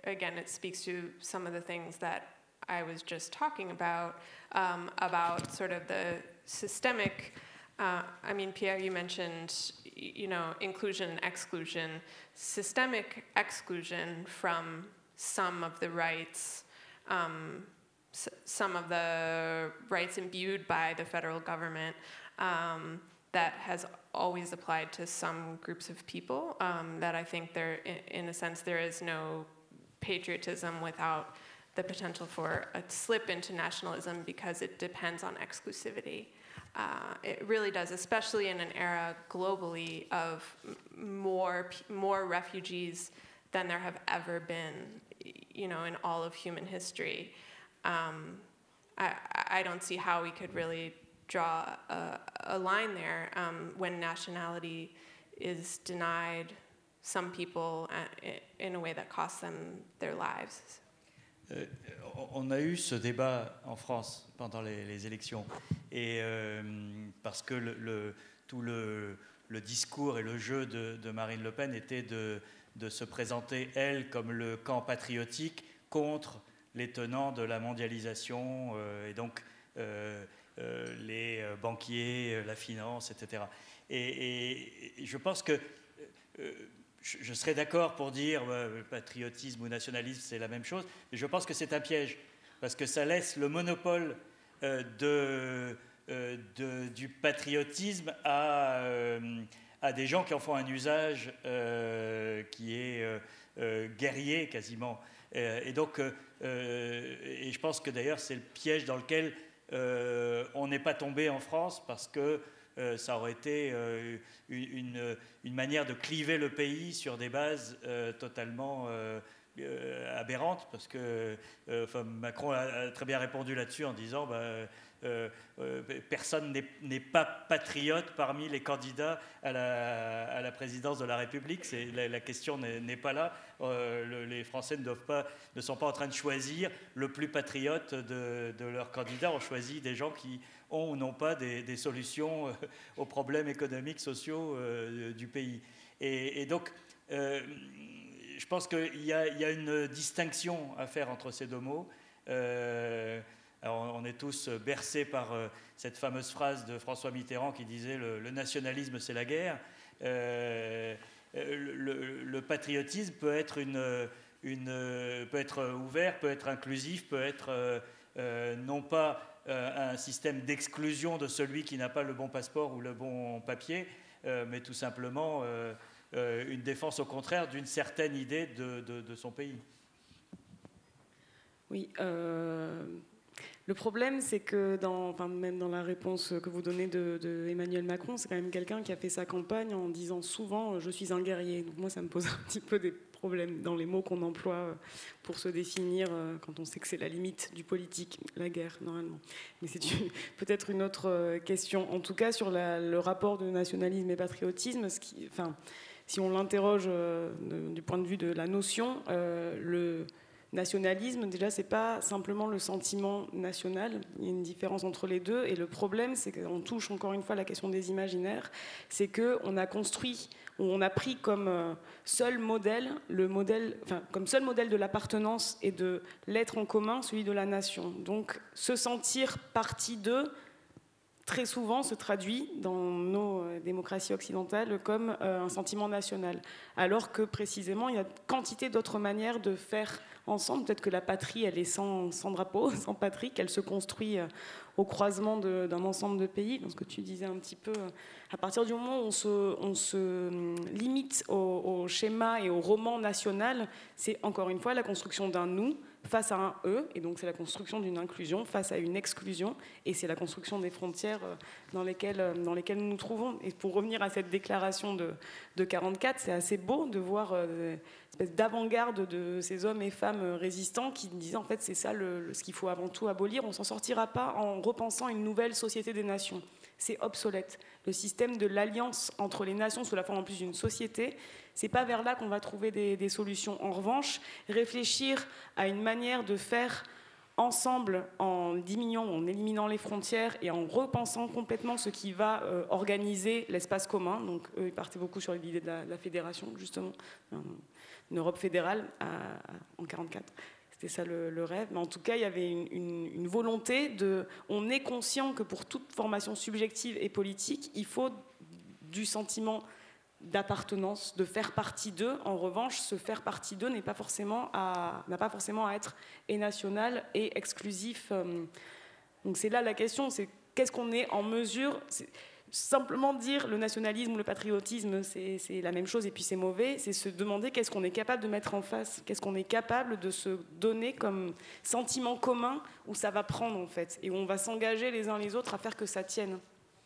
Speaker 2: again, it speaks to some of the things that I was just talking about, um, about sort of the systemic, uh, I mean, Pierre, you mentioned, you know, inclusion and exclusion, systemic exclusion from some of the rights, um, s- some of the rights imbued by the federal government, um, that has always applied to some groups of people, um, that I think there, in, in a sense, there is no patriotism without the potential for a slip into nationalism because it depends on exclusivity. Uh, it really does, especially in an era globally of m- more p- more refugees than there have ever been, you know, in all of human history. Um, I, I don't see how we could really draw a, a line there um, when nationality is denied some people uh, in a way that costs them their lives.
Speaker 3: Euh, on a eu ce débat en France pendant les, les élections, et euh, parce que le, le, tout le, le discours et le jeu de, de Marine Le Pen était de, de se présenter, elle, comme le camp patriotique contre les tenants de la mondialisation, euh, et donc euh, euh, les banquiers, la finance, et cetera. Et, et, et je pense que euh, je serais d'accord pour dire euh, patriotisme ou nationalisme, c'est la même chose, mais je pense que c'est un piège, parce que ça laisse le monopole euh, de, euh, de, du patriotisme à, euh, à des gens qui en font un usage euh, qui est euh, euh, guerrier quasiment. Euh, et donc, euh, et je pense que d'ailleurs c'est le piège dans lequel euh, on n'est pas tombé en France, parce que Euh, ça aurait été euh, une, une manière de cliver le pays sur des bases euh, totalement euh, euh, aberrantes, parce que euh, enfin, Macron a, a très bien répondu là-dessus en disant bah, euh, euh, personne n'est pas patriote parmi les candidats à la, à la présidence de la République. La, la question n'est pas là. Euh, le, les Français ne, doivent pas, ne sont pas en train de choisir le plus patriote de, de leurs candidats. On choisit des gens qui ont ou n'ont pas des, des solutions euh, aux problèmes économiques, sociaux euh, du pays. Et, et donc, euh, je pense qu'il y, y a une distinction à faire entre ces deux mots. Euh, alors on est tous bercés par euh, cette fameuse phrase de François Mitterrand qui disait le, le nationalisme, c'est la guerre. Euh, le, le patriotisme peut être, une, une, peut être ouvert, peut être inclusif, peut être euh, euh, non pas Euh, un système d'exclusion de celui qui n'a pas le bon passeport ou le bon papier, euh, mais tout simplement euh, euh, une défense au contraire d'une certaine idée de, de, de son pays.
Speaker 4: Oui, euh, le problème c'est que dans, enfin, même dans la réponse que vous donnez de, de Emmanuel Macron, c'est quand même quelqu'un qui a fait sa campagne en disant souvent « je suis un guerrier ». Donc moi ça me pose un petit peu des problèmes dans les mots qu'on emploie pour se définir quand on sait que c'est la limite du politique, la guerre normalement. Mais c'est peut-être une autre question. En tout cas sur la, le rapport de nationalisme et patriotisme, ce qui, enfin, si on l'interroge euh, du point de vue de la notion, euh, le nationalisme, déjà, c'est pas simplement le sentiment national. Il y a une différence entre les deux. Et le problème, c'est qu'on touche encore une fois la question des imaginaires. C'est qu'on a construit, on a pris comme seul modèle, le modèle, enfin, comme seul modèle de l'appartenance et de l'être en commun, celui de la nation. Donc, se sentir partie d'eux, très souvent se traduit dans nos démocraties occidentales comme un sentiment national. Alors que précisément, il y a quantité d'autres manières de faire ensemble. Peut-être que la patrie, elle est sans, sans drapeau, sans patrie, qu'elle se construit au croisement d'un ensemble de pays. Dans ce que tu disais un petit peu, à partir du moment où on se, on se limite au, au schéma et au roman national, c'est encore une fois la construction d'un nous face à un eux, et donc c'est la construction d'une inclusion face à une exclusion, et c'est la construction des frontières dans lesquelles, dans lesquelles nous nous trouvons. Et pour revenir à cette déclaration de, de quarante-quatre, c'est assez beau de voir euh, une espèce d'avant-garde de ces hommes et femmes résistants qui disaient en fait c'est ça le, le, ce qu'il faut avant tout abolir, on ne s'en sortira pas en repensant une nouvelle société des nations. C'est obsolète. Le système de l'alliance entre les nations sous la forme en plus d'une société, c'est pas vers là qu'on va trouver des, des solutions. En revanche, réfléchir à une manière de faire ensemble en diminuant, en éliminant les frontières et en repensant complètement ce qui va euh, organiser l'espace commun. Donc eux, ils partaient beaucoup sur l'idée de la, de la fédération, justement, une une Europe fédérale à, à, en quarante-quatre. C'était ça le, le rêve. Mais en tout cas, il y avait une, une, une volonté de... On est conscient que pour toute formation subjective et politique, il faut du sentiment d'appartenance, de faire partie d'eux. En revanche, ce faire partie d'eux n'est pas forcément à, n'a pas forcément à être et national et exclusif. Donc c'est là la question, c'est qu'est-ce qu'on est en mesure... C'est, simplement dire le nationalisme ou le patriotisme, c'est, c'est la même chose et puis c'est mauvais, c'est se demander qu'est-ce qu'on est capable de mettre en face, qu'est-ce qu'on est capable de se donner comme sentiment commun où ça va prendre en fait, et où on va s'engager les uns les autres à faire que ça tienne.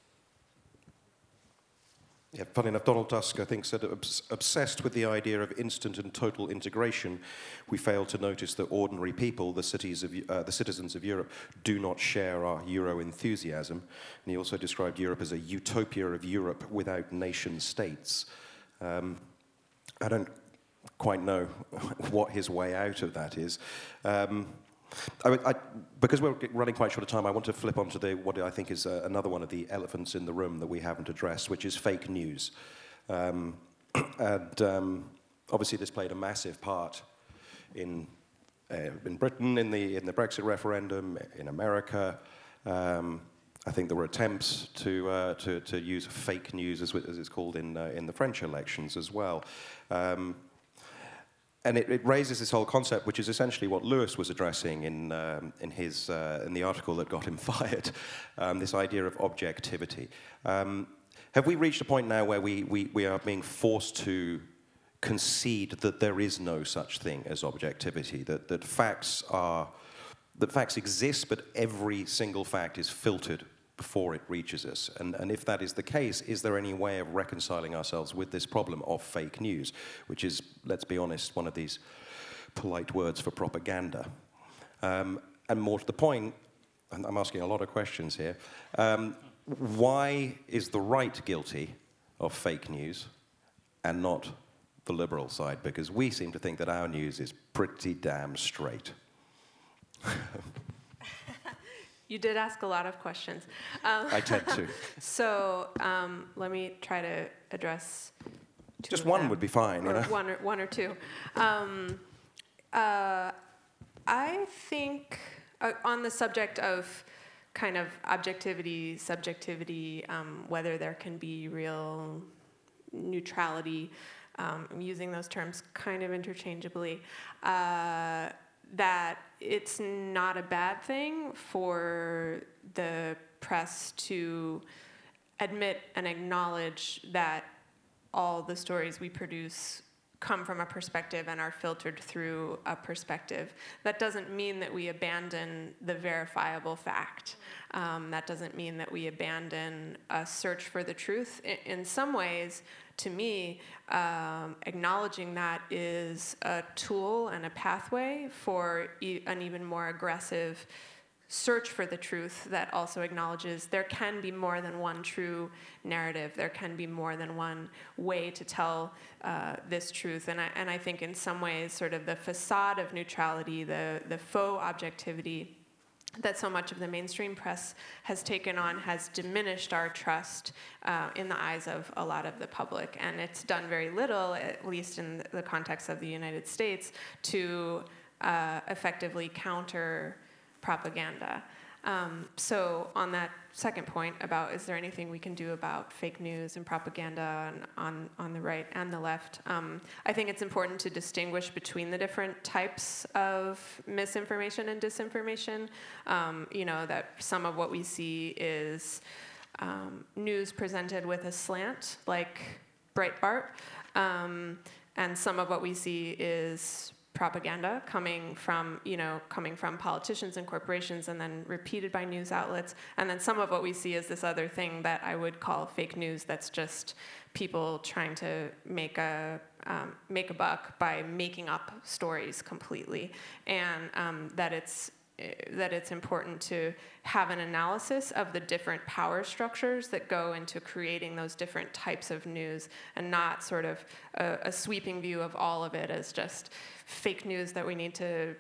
Speaker 1: Yeah, funny enough, Donald Tusk, I think, said, obs- obsessed with the idea of instant and total integration, we fail to notice that ordinary people, the, cities of, uh, the citizens of Europe, do not share our Euro enthusiasm. And he also described Europe as a utopia of Europe without nation states. Um, I don't quite know what his way out of that is. Um, I, I, because we're running quite short of time, I want to flip onto the, what I think is uh, another one of the elephants in the room that we haven't addressed, which is fake news. Um, and um, obviously this played a massive part in, uh, in Britain, in the, in the Brexit referendum, in America. Um, I think there were attempts to, uh, to, to use fake news, as, as it's called, in, uh, in the French elections as well. Um, And it, it raises this whole concept, which is essentially what Lewis was addressing in, um, in, his, uh, in the article that got him fired, um, this idea of objectivity. Um, have we reached a point now where we, we, we are being forced to concede that there is no such thing as objectivity, that, that, facts, are, that facts exist, but every single fact is filtered before it reaches us? And, and if that is the case, is there any way of reconciling ourselves with this problem of fake news, which is, let's be honest, one of these polite words for propaganda? Um, and more to the point, and I'm asking a lot of questions here, um, why is the right guilty of fake news and not the liberal side? Because we seem to think that our news is pretty damn straight.
Speaker 2: You did ask a lot of questions. Um,
Speaker 1: I tend to.
Speaker 2: So um, let me try to address two
Speaker 1: Just
Speaker 2: of
Speaker 1: one
Speaker 2: them.
Speaker 1: would be fine, you
Speaker 2: Or
Speaker 1: know?
Speaker 2: One or, one or two. Um, uh, I think uh, on the subject of kind of objectivity, subjectivity, um, whether there can be real neutrality, um, I'm using those terms kind of interchangeably, uh, that it's not a bad thing for the press to admit and acknowledge that all the stories we produce come from a perspective and are filtered through a perspective. That doesn't mean that we abandon the verifiable fact. Um, that doesn't mean that we abandon a search for the truth. In, in some ways, to me, um, acknowledging that is a tool and a pathway for e- an even more aggressive search for the truth that also acknowledges there can be more than one true narrative. There can be more than one way to tell uh, this truth. And I, and I think in some ways, sort of the facade of neutrality, the, the faux objectivity that so much of the mainstream press has taken on has diminished our trust uh, in the eyes of a lot of the public. And it's done very little, at least in the context of the United States, to uh, effectively counter propaganda. Um, so on that second point about is there anything we can do about fake news and propaganda on, on, on the right and the left, um, I think it's important to distinguish between the different types of misinformation and disinformation. Um, you know, that some of what we see is um, news presented with a slant, like Breitbart, um, and some of what we see is propaganda coming from, you know, coming from politicians and corporations and then repeated by news outlets. And then some of what we see is this other thing that I would call fake news that's just people trying to make a um, make a buck by making up stories completely. And um, that it's that it's important to have an analysis of the different power structures that go into creating those different types of news, and not sort of a, a sweeping view of all of it as just fake news that we need to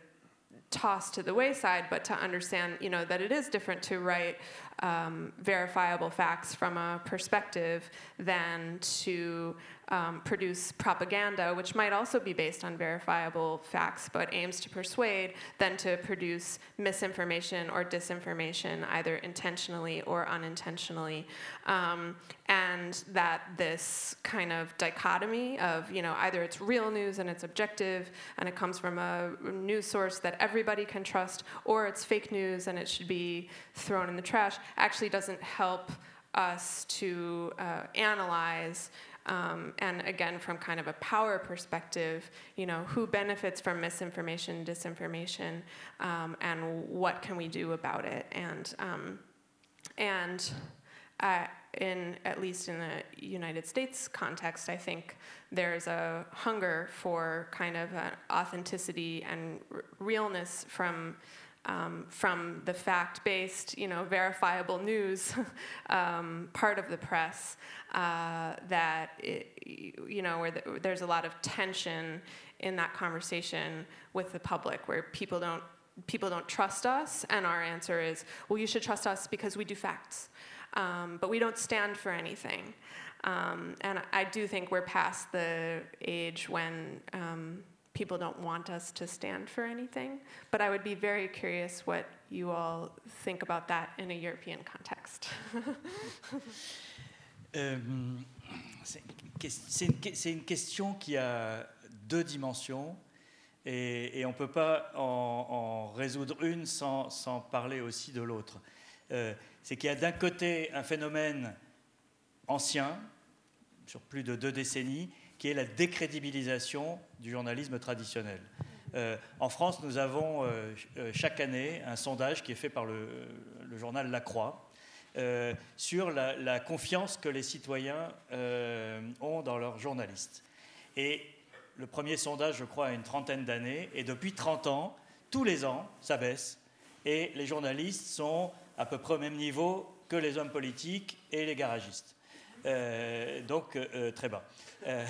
Speaker 2: toss to the wayside, but to understand, you know, that it is different to write um, verifiable facts from a perspective than to um, produce propaganda, which might also be based on verifiable facts, but aims to persuade, than to produce misinformation or disinformation, either intentionally or unintentionally. Um, and that this kind of dichotomy of, you know, either it's real news and it's objective and it comes from a news source that everybody can trust, or it's fake news and it should be thrown in the trash, actually doesn't help us to uh, analyze, um, and again, from kind of a power perspective, you know, who benefits from misinformation, disinformation, um, and what can we do about it? And um, and uh, in at least in the United States context, I think there's a hunger for kind of an authenticity and r- realness from. Um, from the fact-based, you know, verifiable news um, part of the press, uh, that, it, you know, where the, there's a lot of tension in that conversation with the public, where people don't people don't trust us, and our answer is, well, you should trust us because we do facts, um, but we don't stand for anything. Um, and I do think we're past the age when um, people don't want us to stand for anything, but I would be very curious what you all think about that in a European context.
Speaker 3: euh, c'est, c'est, une, c'est une question qui a deux dimensions, et, et on ne peut pas en, en résoudre une sans, sans parler aussi de l'autre. Euh, c'est qu'il y a d'un côté un phénomène ancien, sur plus de deux décennies, qui est la décrédibilisation du journalisme traditionnel. Euh, en France, nous avons euh, chaque année un sondage qui est fait par le, le journal La Croix euh, sur la, la confiance que les citoyens euh, ont dans leurs journalistes. Et le premier sondage, je crois, a une trentaine d'années, et depuis trente ans, tous les ans, ça baisse, et les journalistes sont à peu près au même niveau que les hommes politiques et les garagistes. Euh, donc, euh, très bas. Euh,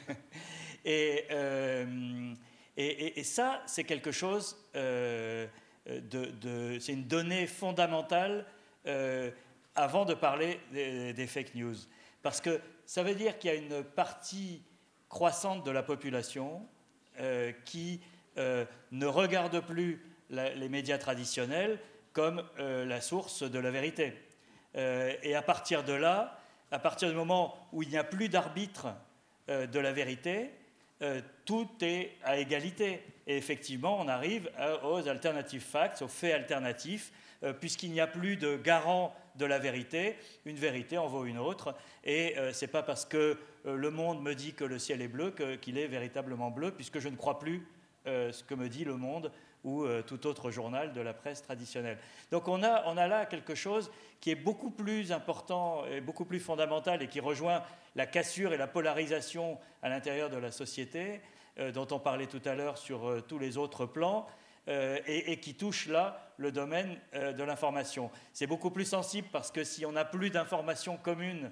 Speaker 3: et, euh, et, et, et ça, c'est quelque chose, euh, de, de, c'est une donnée fondamentale euh, avant de parler des, des fake news. Parce que ça veut dire qu'il y a une partie croissante de la population euh, qui euh, ne regarde plus la, les médias traditionnels comme euh, la source de la vérité. Euh, et à partir de là, à partir du moment où il n'y a plus d'arbitre euh, de la vérité, euh, tout est à égalité. Et effectivement, on arrive à, aux alternative facts, aux faits alternatifs, euh, puisqu'il n'y a plus de garant de la vérité. Une vérité en vaut une autre. Et euh, ce n'est pas parce que euh, Le Monde me dit que le ciel est bleu que, qu'il est véritablement bleu, puisque je ne crois plus euh, ce que me dit Le Monde ou euh, tout autre journal de la presse traditionnelle. Donc on a, on a là quelque chose qui est beaucoup plus important et beaucoup plus fondamental, et qui rejoint la cassure et la polarisation à l'intérieur de la société, euh, dont on parlait tout à l'heure sur euh, tous les autres plans, euh, et, et qui touche là le domaine euh, de l'information. C'est beaucoup plus sensible parce que si on n'a plus d'informations communes,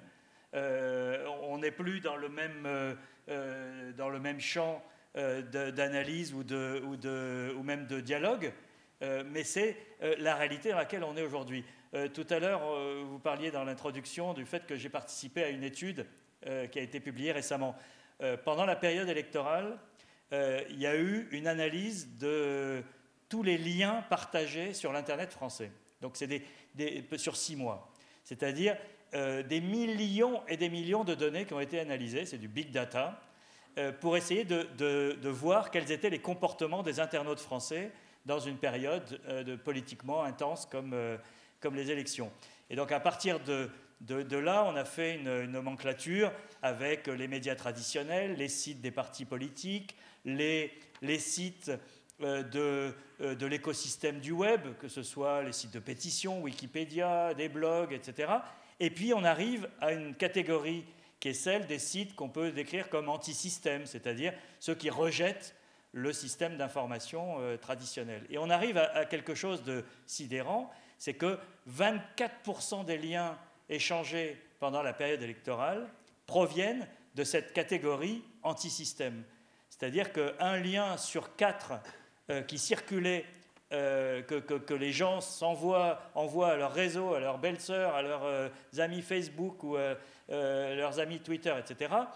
Speaker 3: euh, on n'est plus dans le même, euh, euh, dans le même champ euh, de, d'analyse ou, de, ou, de, ou même de dialogue, euh, mais c'est euh, la réalité dans laquelle on est aujourd'hui. Euh, tout à l'heure, euh, vous parliez dans l'introduction du fait que j'ai participé à une étude euh, qui a été publiée récemment. Euh, pendant la période électorale, euh, il y a eu une analyse de tous les liens partagés sur l'Internet français. Donc c'est des, des, sur six mois. C'est-à-dire euh, des millions et des millions de données qui ont été analysées, c'est du big data, euh, pour essayer de, de, de voir quels étaient les comportements des internautes français dans une période euh, de politiquement intense comme, euh, comme les élections. Et donc à partir de, de, de là, on a fait une, une nomenclature avec les médias traditionnels, les sites des partis politiques, les, les sites euh, de, euh, de l'écosystème du web, que ce soit les sites de pétition, Wikipédia, des blogs, et cetera. Et puis on arrive à une catégorie qui est celle des sites qu'on peut décrire comme anti-système, c'est-à-dire ceux qui rejettent le système d'information euh, traditionnel. Et on arrive à, à quelque chose de sidérant, c'est que vingt-quatre pour cent des liens échangés pendant la période électorale proviennent de cette catégorie anti-système. C'est-à-dire qu'un lien sur quatre euh, qui circulait, euh, que, que, que les gens s'envoient, envoient à leur réseau, à leurs belles-sœurs, à leurs euh, amis Facebook ou à euh, leurs amis Twitter, et cetera,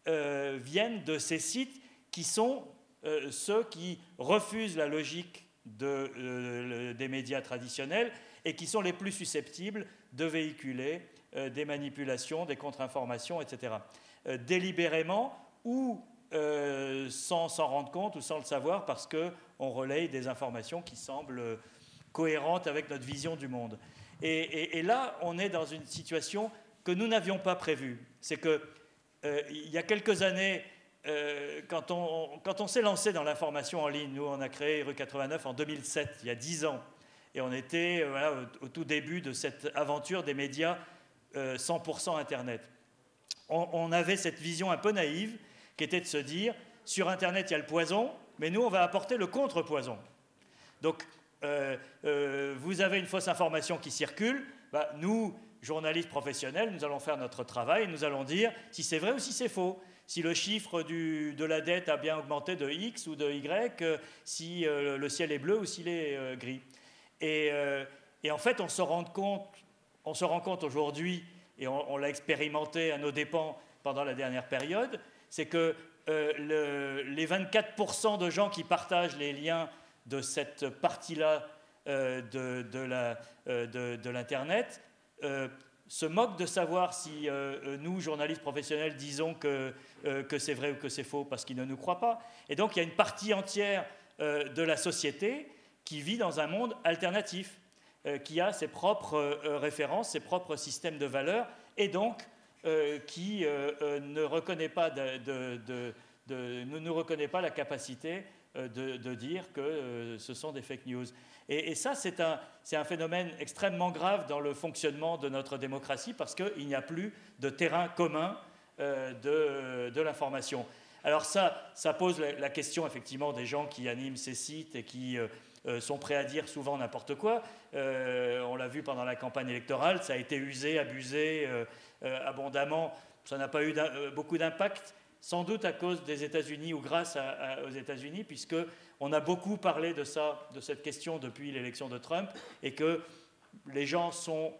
Speaker 3: euh, viennent de ces sites qui sont euh, ceux qui refusent la logique de, euh, des médias traditionnels et qui sont les plus susceptibles de véhiculer euh, des manipulations, des contre-informations, et cetera. Euh, délibérément ou euh, sans s'en rendre compte ou sans le savoir parce qu'on relaye des informations qui semblent cohérentes avec notre vision du monde. Et, et, et là, on est dans une situation que nous n'avions pas prévue. C'est qu'il euh, y a quelques années, euh, quand on, quand on s'est lancé dans l'information en ligne, nous, on a créé Rue quatre-vingt-neuf en deux mille sept, il y a dix ans. Et on était euh, voilà, au, au tout début de cette aventure des médias euh, cent pour cent Internet. On, on avait cette vision un peu naïve qui était de se dire, sur Internet, il y a le poison, mais nous, on va apporter le contre-poison. Donc, euh, euh, vous avez une fausse information qui circule, bah, nous, journalistes professionnels, nous allons faire notre travail et nous allons dire si c'est vrai ou si c'est faux. Si le chiffre du, de la dette a bien augmenté de X ou de Y, euh, si euh, le ciel est bleu ou s'il est euh, gris. Et, euh, et en fait, on se rend compte, on se rend compte aujourd'hui, et on, on l'a expérimenté à nos dépens pendant la dernière période, c'est que euh, le, les vingt-quatre pour cent de gens qui partagent les liens de cette partie-là euh, de, de, la, euh, de, de l'Internet euh, se moquent de savoir si euh, nous, journalistes professionnels, disons que, euh, que c'est vrai ou que c'est faux parce qu'ils ne nous croient pas. Et donc, il y a une partie entière euh, de la société qui vit dans un monde alternatif, euh, qui a ses propres euh, références, ses propres systèmes de valeurs, et donc euh, qui euh, euh, ne reconnaît pas, de, de, de, de, ne nous reconnaît pas la capacité euh, de, de dire que euh, ce sont des fake news. Et, et ça, c'est un, c'est un phénomène extrêmement grave dans le fonctionnement de notre démocratie parce qu'il n'y a plus de terrain commun euh, de, de l'information. Alors ça, ça pose la, la question effectivement des gens qui animent ces sites et qui euh, euh, sont prêts à dire souvent n'importe quoi. Euh, on l'a vu pendant la campagne électorale, ça a été usé, abusé euh, euh, abondamment. Ça n'a pas eu d'un, euh, beaucoup d'impact, sans doute à cause des États-Unis ou grâce à, à, aux États-Unis, puisqu'on a beaucoup parlé de ça, de cette question depuis l'élection de Trump, et que les gens sont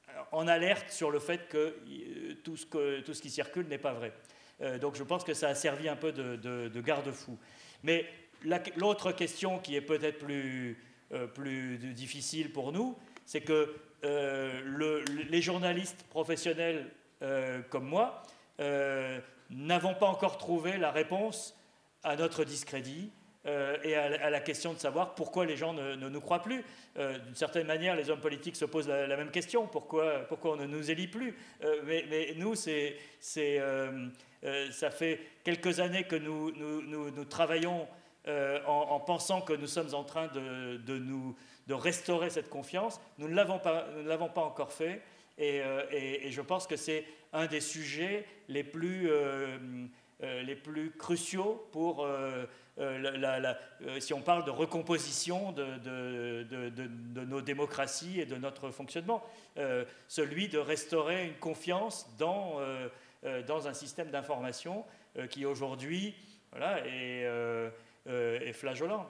Speaker 3: en alerte sur le fait que tout ce, que, tout ce qui circule n'est pas vrai. Euh, donc je pense que ça a servi un peu de, de, de garde-fou. Mais la, l'autre question qui est peut-être plus, euh, plus difficile pour nous, c'est que euh, le, les journalistes professionnels euh, comme moi euh, n'avons pas encore trouvé la réponse à notre discrédit euh, et à, à la question de savoir pourquoi les gens ne, ne nous croient plus. Euh, d'une certaine manière, les hommes politiques se posent la, la même question, pourquoi, pourquoi on ne nous élit plus euh, mais, mais nous, c'est, c'est, euh, euh, ça fait quelques années que nous, nous, nous, nous travaillons euh, en, en pensant que nous sommes en train de, de, nous, de restaurer cette confiance. Nous ne l'avons pas, nous ne l'avons pas encore fait. Et, euh, et, et je pense que c'est un des sujets les plus, euh, euh, les plus cruciaux pour, euh, euh, la, la, la, euh, si on parle de recomposition de, de, de, de, de nos démocraties et de notre fonctionnement, euh, celui de restaurer une confiance dans, euh, euh, dans un système d'information euh, qui aujourd'hui voilà, est, euh, euh, est flageolant.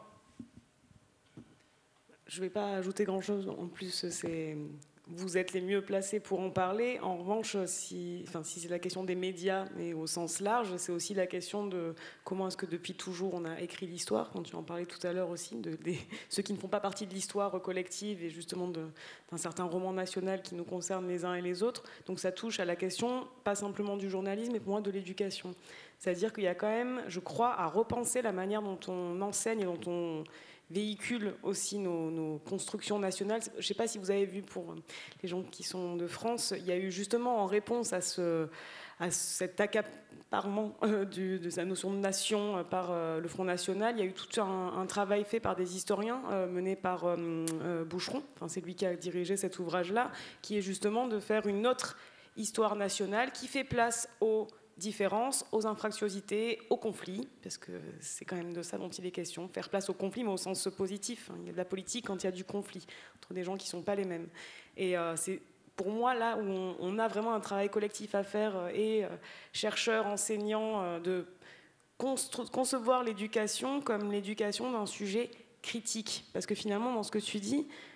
Speaker 4: Je ne vais pas ajouter grand-chose. En plus, c'est... vous êtes les mieux placés pour en parler. En revanche, si, enfin, si c'est la question des médias, mais au sens large, c'est aussi la question de comment est-ce que depuis toujours on a écrit l'histoire, quand tu en parlais tout à l'heure aussi, de, de ceux qui ne font pas partie de l'histoire collective et justement de, d'un certain roman national qui nous concerne les uns et les autres. Donc ça touche à la question, pas simplement du journalisme, mais pour moi de l'éducation. C'est-à-dire qu'il y a quand même, je crois, à repenser la manière dont on enseigne et dont on véhicule aussi nos, nos constructions nationales. Je ne sais pas si vous avez vu, pour les gens qui sont de France, il y a eu justement en réponse à, ce, à cet accaparement euh, du, de sa notion de nation euh, par euh, le Front National, il y a eu tout un, un travail fait par des historiens euh, mené par euh, euh, Boucheron, enfin, c'est lui qui a dirigé cet ouvrage-là, qui est justement de faire une autre histoire nationale qui fait place aux différences, aux infractiosités, aux conflits, parce que c'est quand même de ça dont il est question, faire place aux conflits, mais au sens positif. Il y a de la politique quand il y a du conflit, entre des gens qui ne sont pas les mêmes. Et euh, c'est pour moi là où on, on a vraiment un travail collectif à faire, euh, et euh, chercheurs, enseignants, euh, de constru- concevoir l'éducation comme l'éducation d'un sujet critique. Parce que finalement, dans ce que tu dis,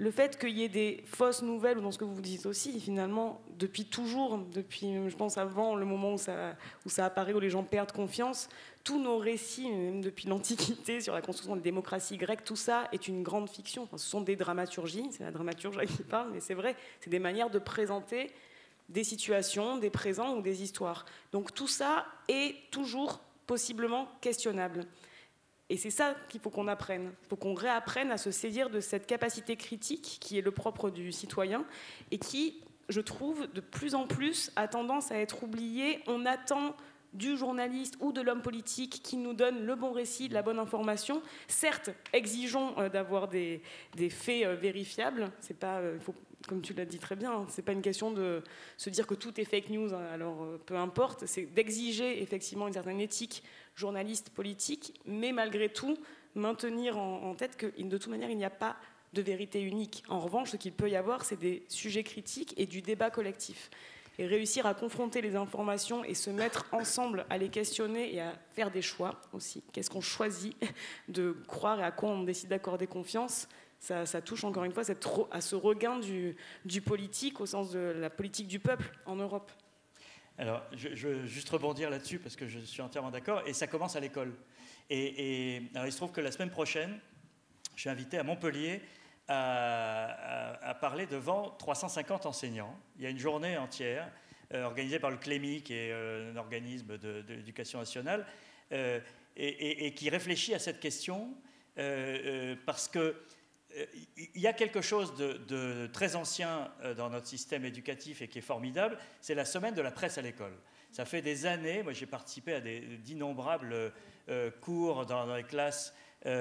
Speaker 4: le fait qu'il y ait des fausses nouvelles, ou dans ce que vous dites aussi, finalement, depuis toujours, depuis, je pense, avant le moment où ça, où ça apparaît, où les gens perdent confiance, tous nos récits, même depuis l'Antiquité, sur la construction de la démocratie grecque, tout ça est une grande fiction. Enfin, ce sont des dramaturgies, c'est la dramaturge qui parle, mais c'est vrai, c'est des manières de présenter des situations, des présents ou des histoires. Donc tout ça est toujours possiblement questionnable. Et c'est ça qu'il faut qu'on apprenne. Il faut qu'on réapprenne à se saisir de cette capacité critique qui est le propre du citoyen et qui, je trouve, de plus en plus a tendance à être oubliée. On attend du journaliste ou de l'homme politique qui nous donne le bon récit, de la bonne information. Certes, exigeons euh, d'avoir des, des faits euh, vérifiables. C'est pas, euh, faut, comme tu l'as dit très bien, hein, c'est pas une question de se dire que tout est fake news, hein, alors euh, peu importe. C'est d'exiger effectivement une certaine éthique journaliste, politique, mais malgré tout, maintenir en, en tête que de toute manière, il n'y a pas de vérité unique. En revanche, ce qu'il peut y avoir, c'est des sujets critiques et du débat collectif. Et réussir à confronter les informations et se mettre ensemble à les questionner et à faire des choix aussi. Qu'est-ce qu'on choisit de croire et à quoi on décide d'accorder confiance, ça, ça touche encore une fois cette, à ce regain du, du politique au sens de la politique du peuple en Europe.
Speaker 3: Alors, je, je veux juste rebondir là-dessus parce que je suis entièrement d'accord. Et ça commence à l'école. Et, et alors, il se trouve que la semaine prochaine, je suis invité à Montpellier à, à, à parler devant trois cent cinquante enseignants. Il y a une journée entière euh, organisée par le Clémy, qui est euh, un organisme de, de l'éducation nationale, euh, et, et, et qui réfléchit à cette question euh, euh, parce que il y a quelque chose de, de très ancien dans notre système éducatif et qui est formidable, c'est la semaine de la presse à l'école. Ça fait des années, moi j'ai participé à des, d'innombrables euh, cours dans, dans les classes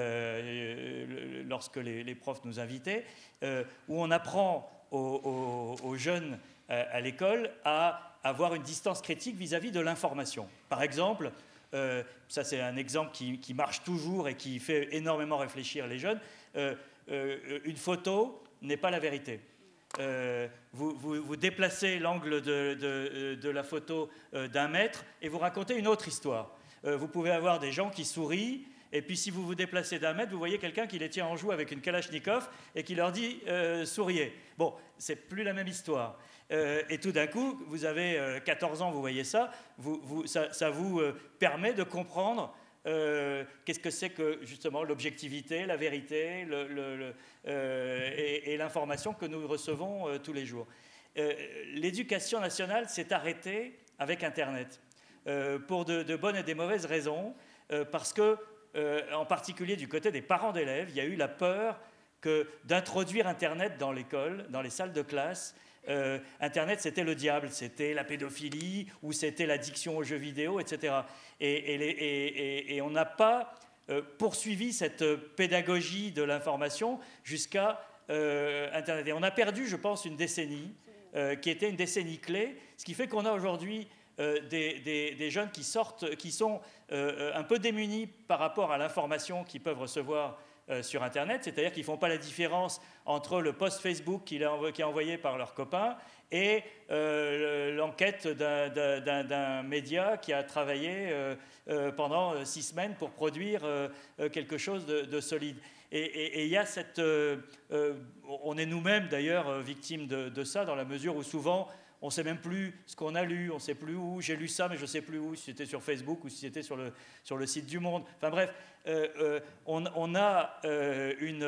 Speaker 3: euh, lorsque les, les profs nous invitaient, euh, où on apprend aux, aux, aux jeunes euh, à l'école à avoir une distance critique vis-à-vis de l'information. Par exemple, euh, ça c'est un exemple qui, qui marche toujours et qui fait énormément réfléchir les jeunes, euh, Euh, une photo n'est pas la vérité. Euh, vous, vous, vous déplacez l'angle de, de, de la photo euh, d'un mètre et vous racontez une autre histoire. Euh, vous pouvez avoir des gens qui sourient, et puis si vous vous déplacez d'un mètre, vous voyez quelqu'un qui les tient en joue avec une Kalachnikov et qui leur dit euh, « souriez ». Bon, c'est plus la même histoire. Euh, et tout d'un coup, vous avez euh, quatorze ans, vous voyez ça, vous, vous, ça, ça vous euh, permet de comprendre Euh, qu'est-ce que c'est que justement l'objectivité, la vérité le, le, le, euh, et, et l'information que nous recevons euh, tous les jours. Euh, l'éducation nationale s'est arrêtée avec Internet euh, pour de, de bonnes et des mauvaises raisons, euh, parce que, euh, en particulier du côté des parents d'élèves, il y a eu la peur que d'introduire Internet dans l'école, dans les salles de classe. Euh, Internet, c'était le diable, c'était la pédophilie ou c'était l'addiction aux jeux vidéo, et cetera. Et, et, les, et, et, et on n'a pas euh, poursuivi cette pédagogie de l'information jusqu'à euh, Internet. Et on a perdu, je pense, une décennie euh, qui était une décennie clé, ce qui fait qu'on a aujourd'hui euh, des, des, des jeunes qui sortent, qui sont euh, un peu démunis par rapport à l'information qu'ils peuvent recevoir Euh, sur Internet, c'est-à-dire qu'ils ne font pas la différence entre le post Facebook qui, qui est envoyé par leurs copains et euh, l'enquête d'un, d'un, d'un média qui a travaillé euh, euh, pendant six semaines pour produire euh, quelque chose de, de solide. Et il y a cette... Euh, euh, on est nous-mêmes d'ailleurs victimes de, de ça, dans la mesure où souvent on ne sait même plus ce qu'on a lu, on ne sait plus où, j'ai lu ça, mais je ne sais plus où, si c'était sur Facebook ou si c'était sur le, sur le site du Monde. Enfin bref, euh, euh, on, on a euh, une,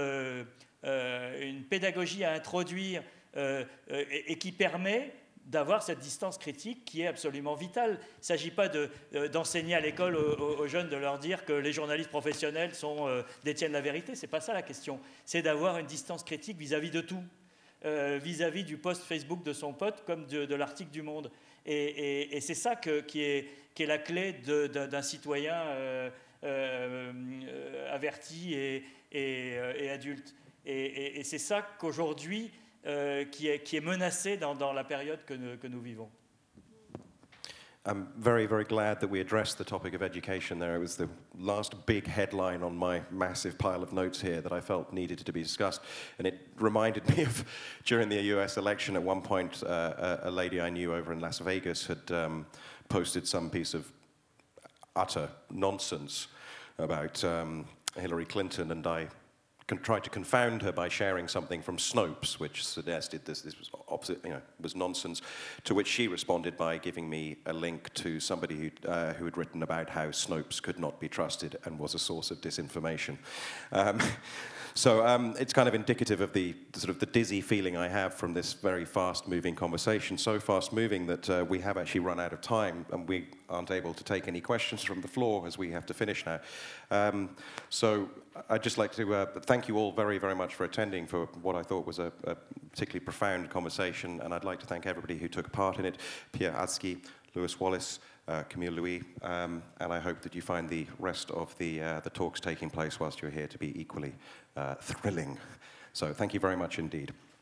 Speaker 3: euh, une pédagogie à introduire euh, euh, et, et qui permet d'avoir cette distance critique qui est absolument vitale. Il ne s'agit pas de, euh, d'enseigner à l'école aux, aux jeunes, de leur dire que les journalistes professionnels sont, euh, détiennent la vérité. Ce n'est pas ça la question. C'est d'avoir une distance critique vis-à-vis de tout. Euh, vis-à-vis du post Facebook de son pote comme de, de l'article du Monde. Et, et, et c'est ça que, qui, est, qui est la clé de, de, d'un citoyen euh, euh, averti et, et, et adulte. Et, et, et c'est ça qu'aujourd'hui euh, qui, est, qui est menacé dans, dans la période que nous, que nous vivons.
Speaker 1: I'm very, very glad that we addressed the topic of education there. It was the last big headline on my massive pile of notes here that I felt needed to be discussed. And it reminded me of, during the U S election, at one point, uh, a, a lady I knew over in Las Vegas had um, posted some piece of utter nonsense about um, Hillary Clinton, and I con- tried to confound her by sharing something from Snopes, which suggested this, this was opposite, you know, was nonsense, to which she responded by giving me a link to somebody who, uh, who had written about how Snopes could not be trusted and was a source of disinformation. Um, So um, it's kind of indicative of the, the sort of the dizzy feeling I have from this very fast-moving conversation, so fast-moving that uh, we have actually run out of time and we aren't able to take any questions from the floor as we have to finish now. Um, so I'd just like to uh, thank you all very, very much for attending for what I thought was a, a particularly profound conversation, and I'd like to thank everybody who took part in it, Pierre Adsky, Lewis Wallace, Uh, Camille Louis, um, and I hope that you find the rest of the, uh, the talks taking place whilst you're here to be equally uh, thrilling. So thank you very much indeed.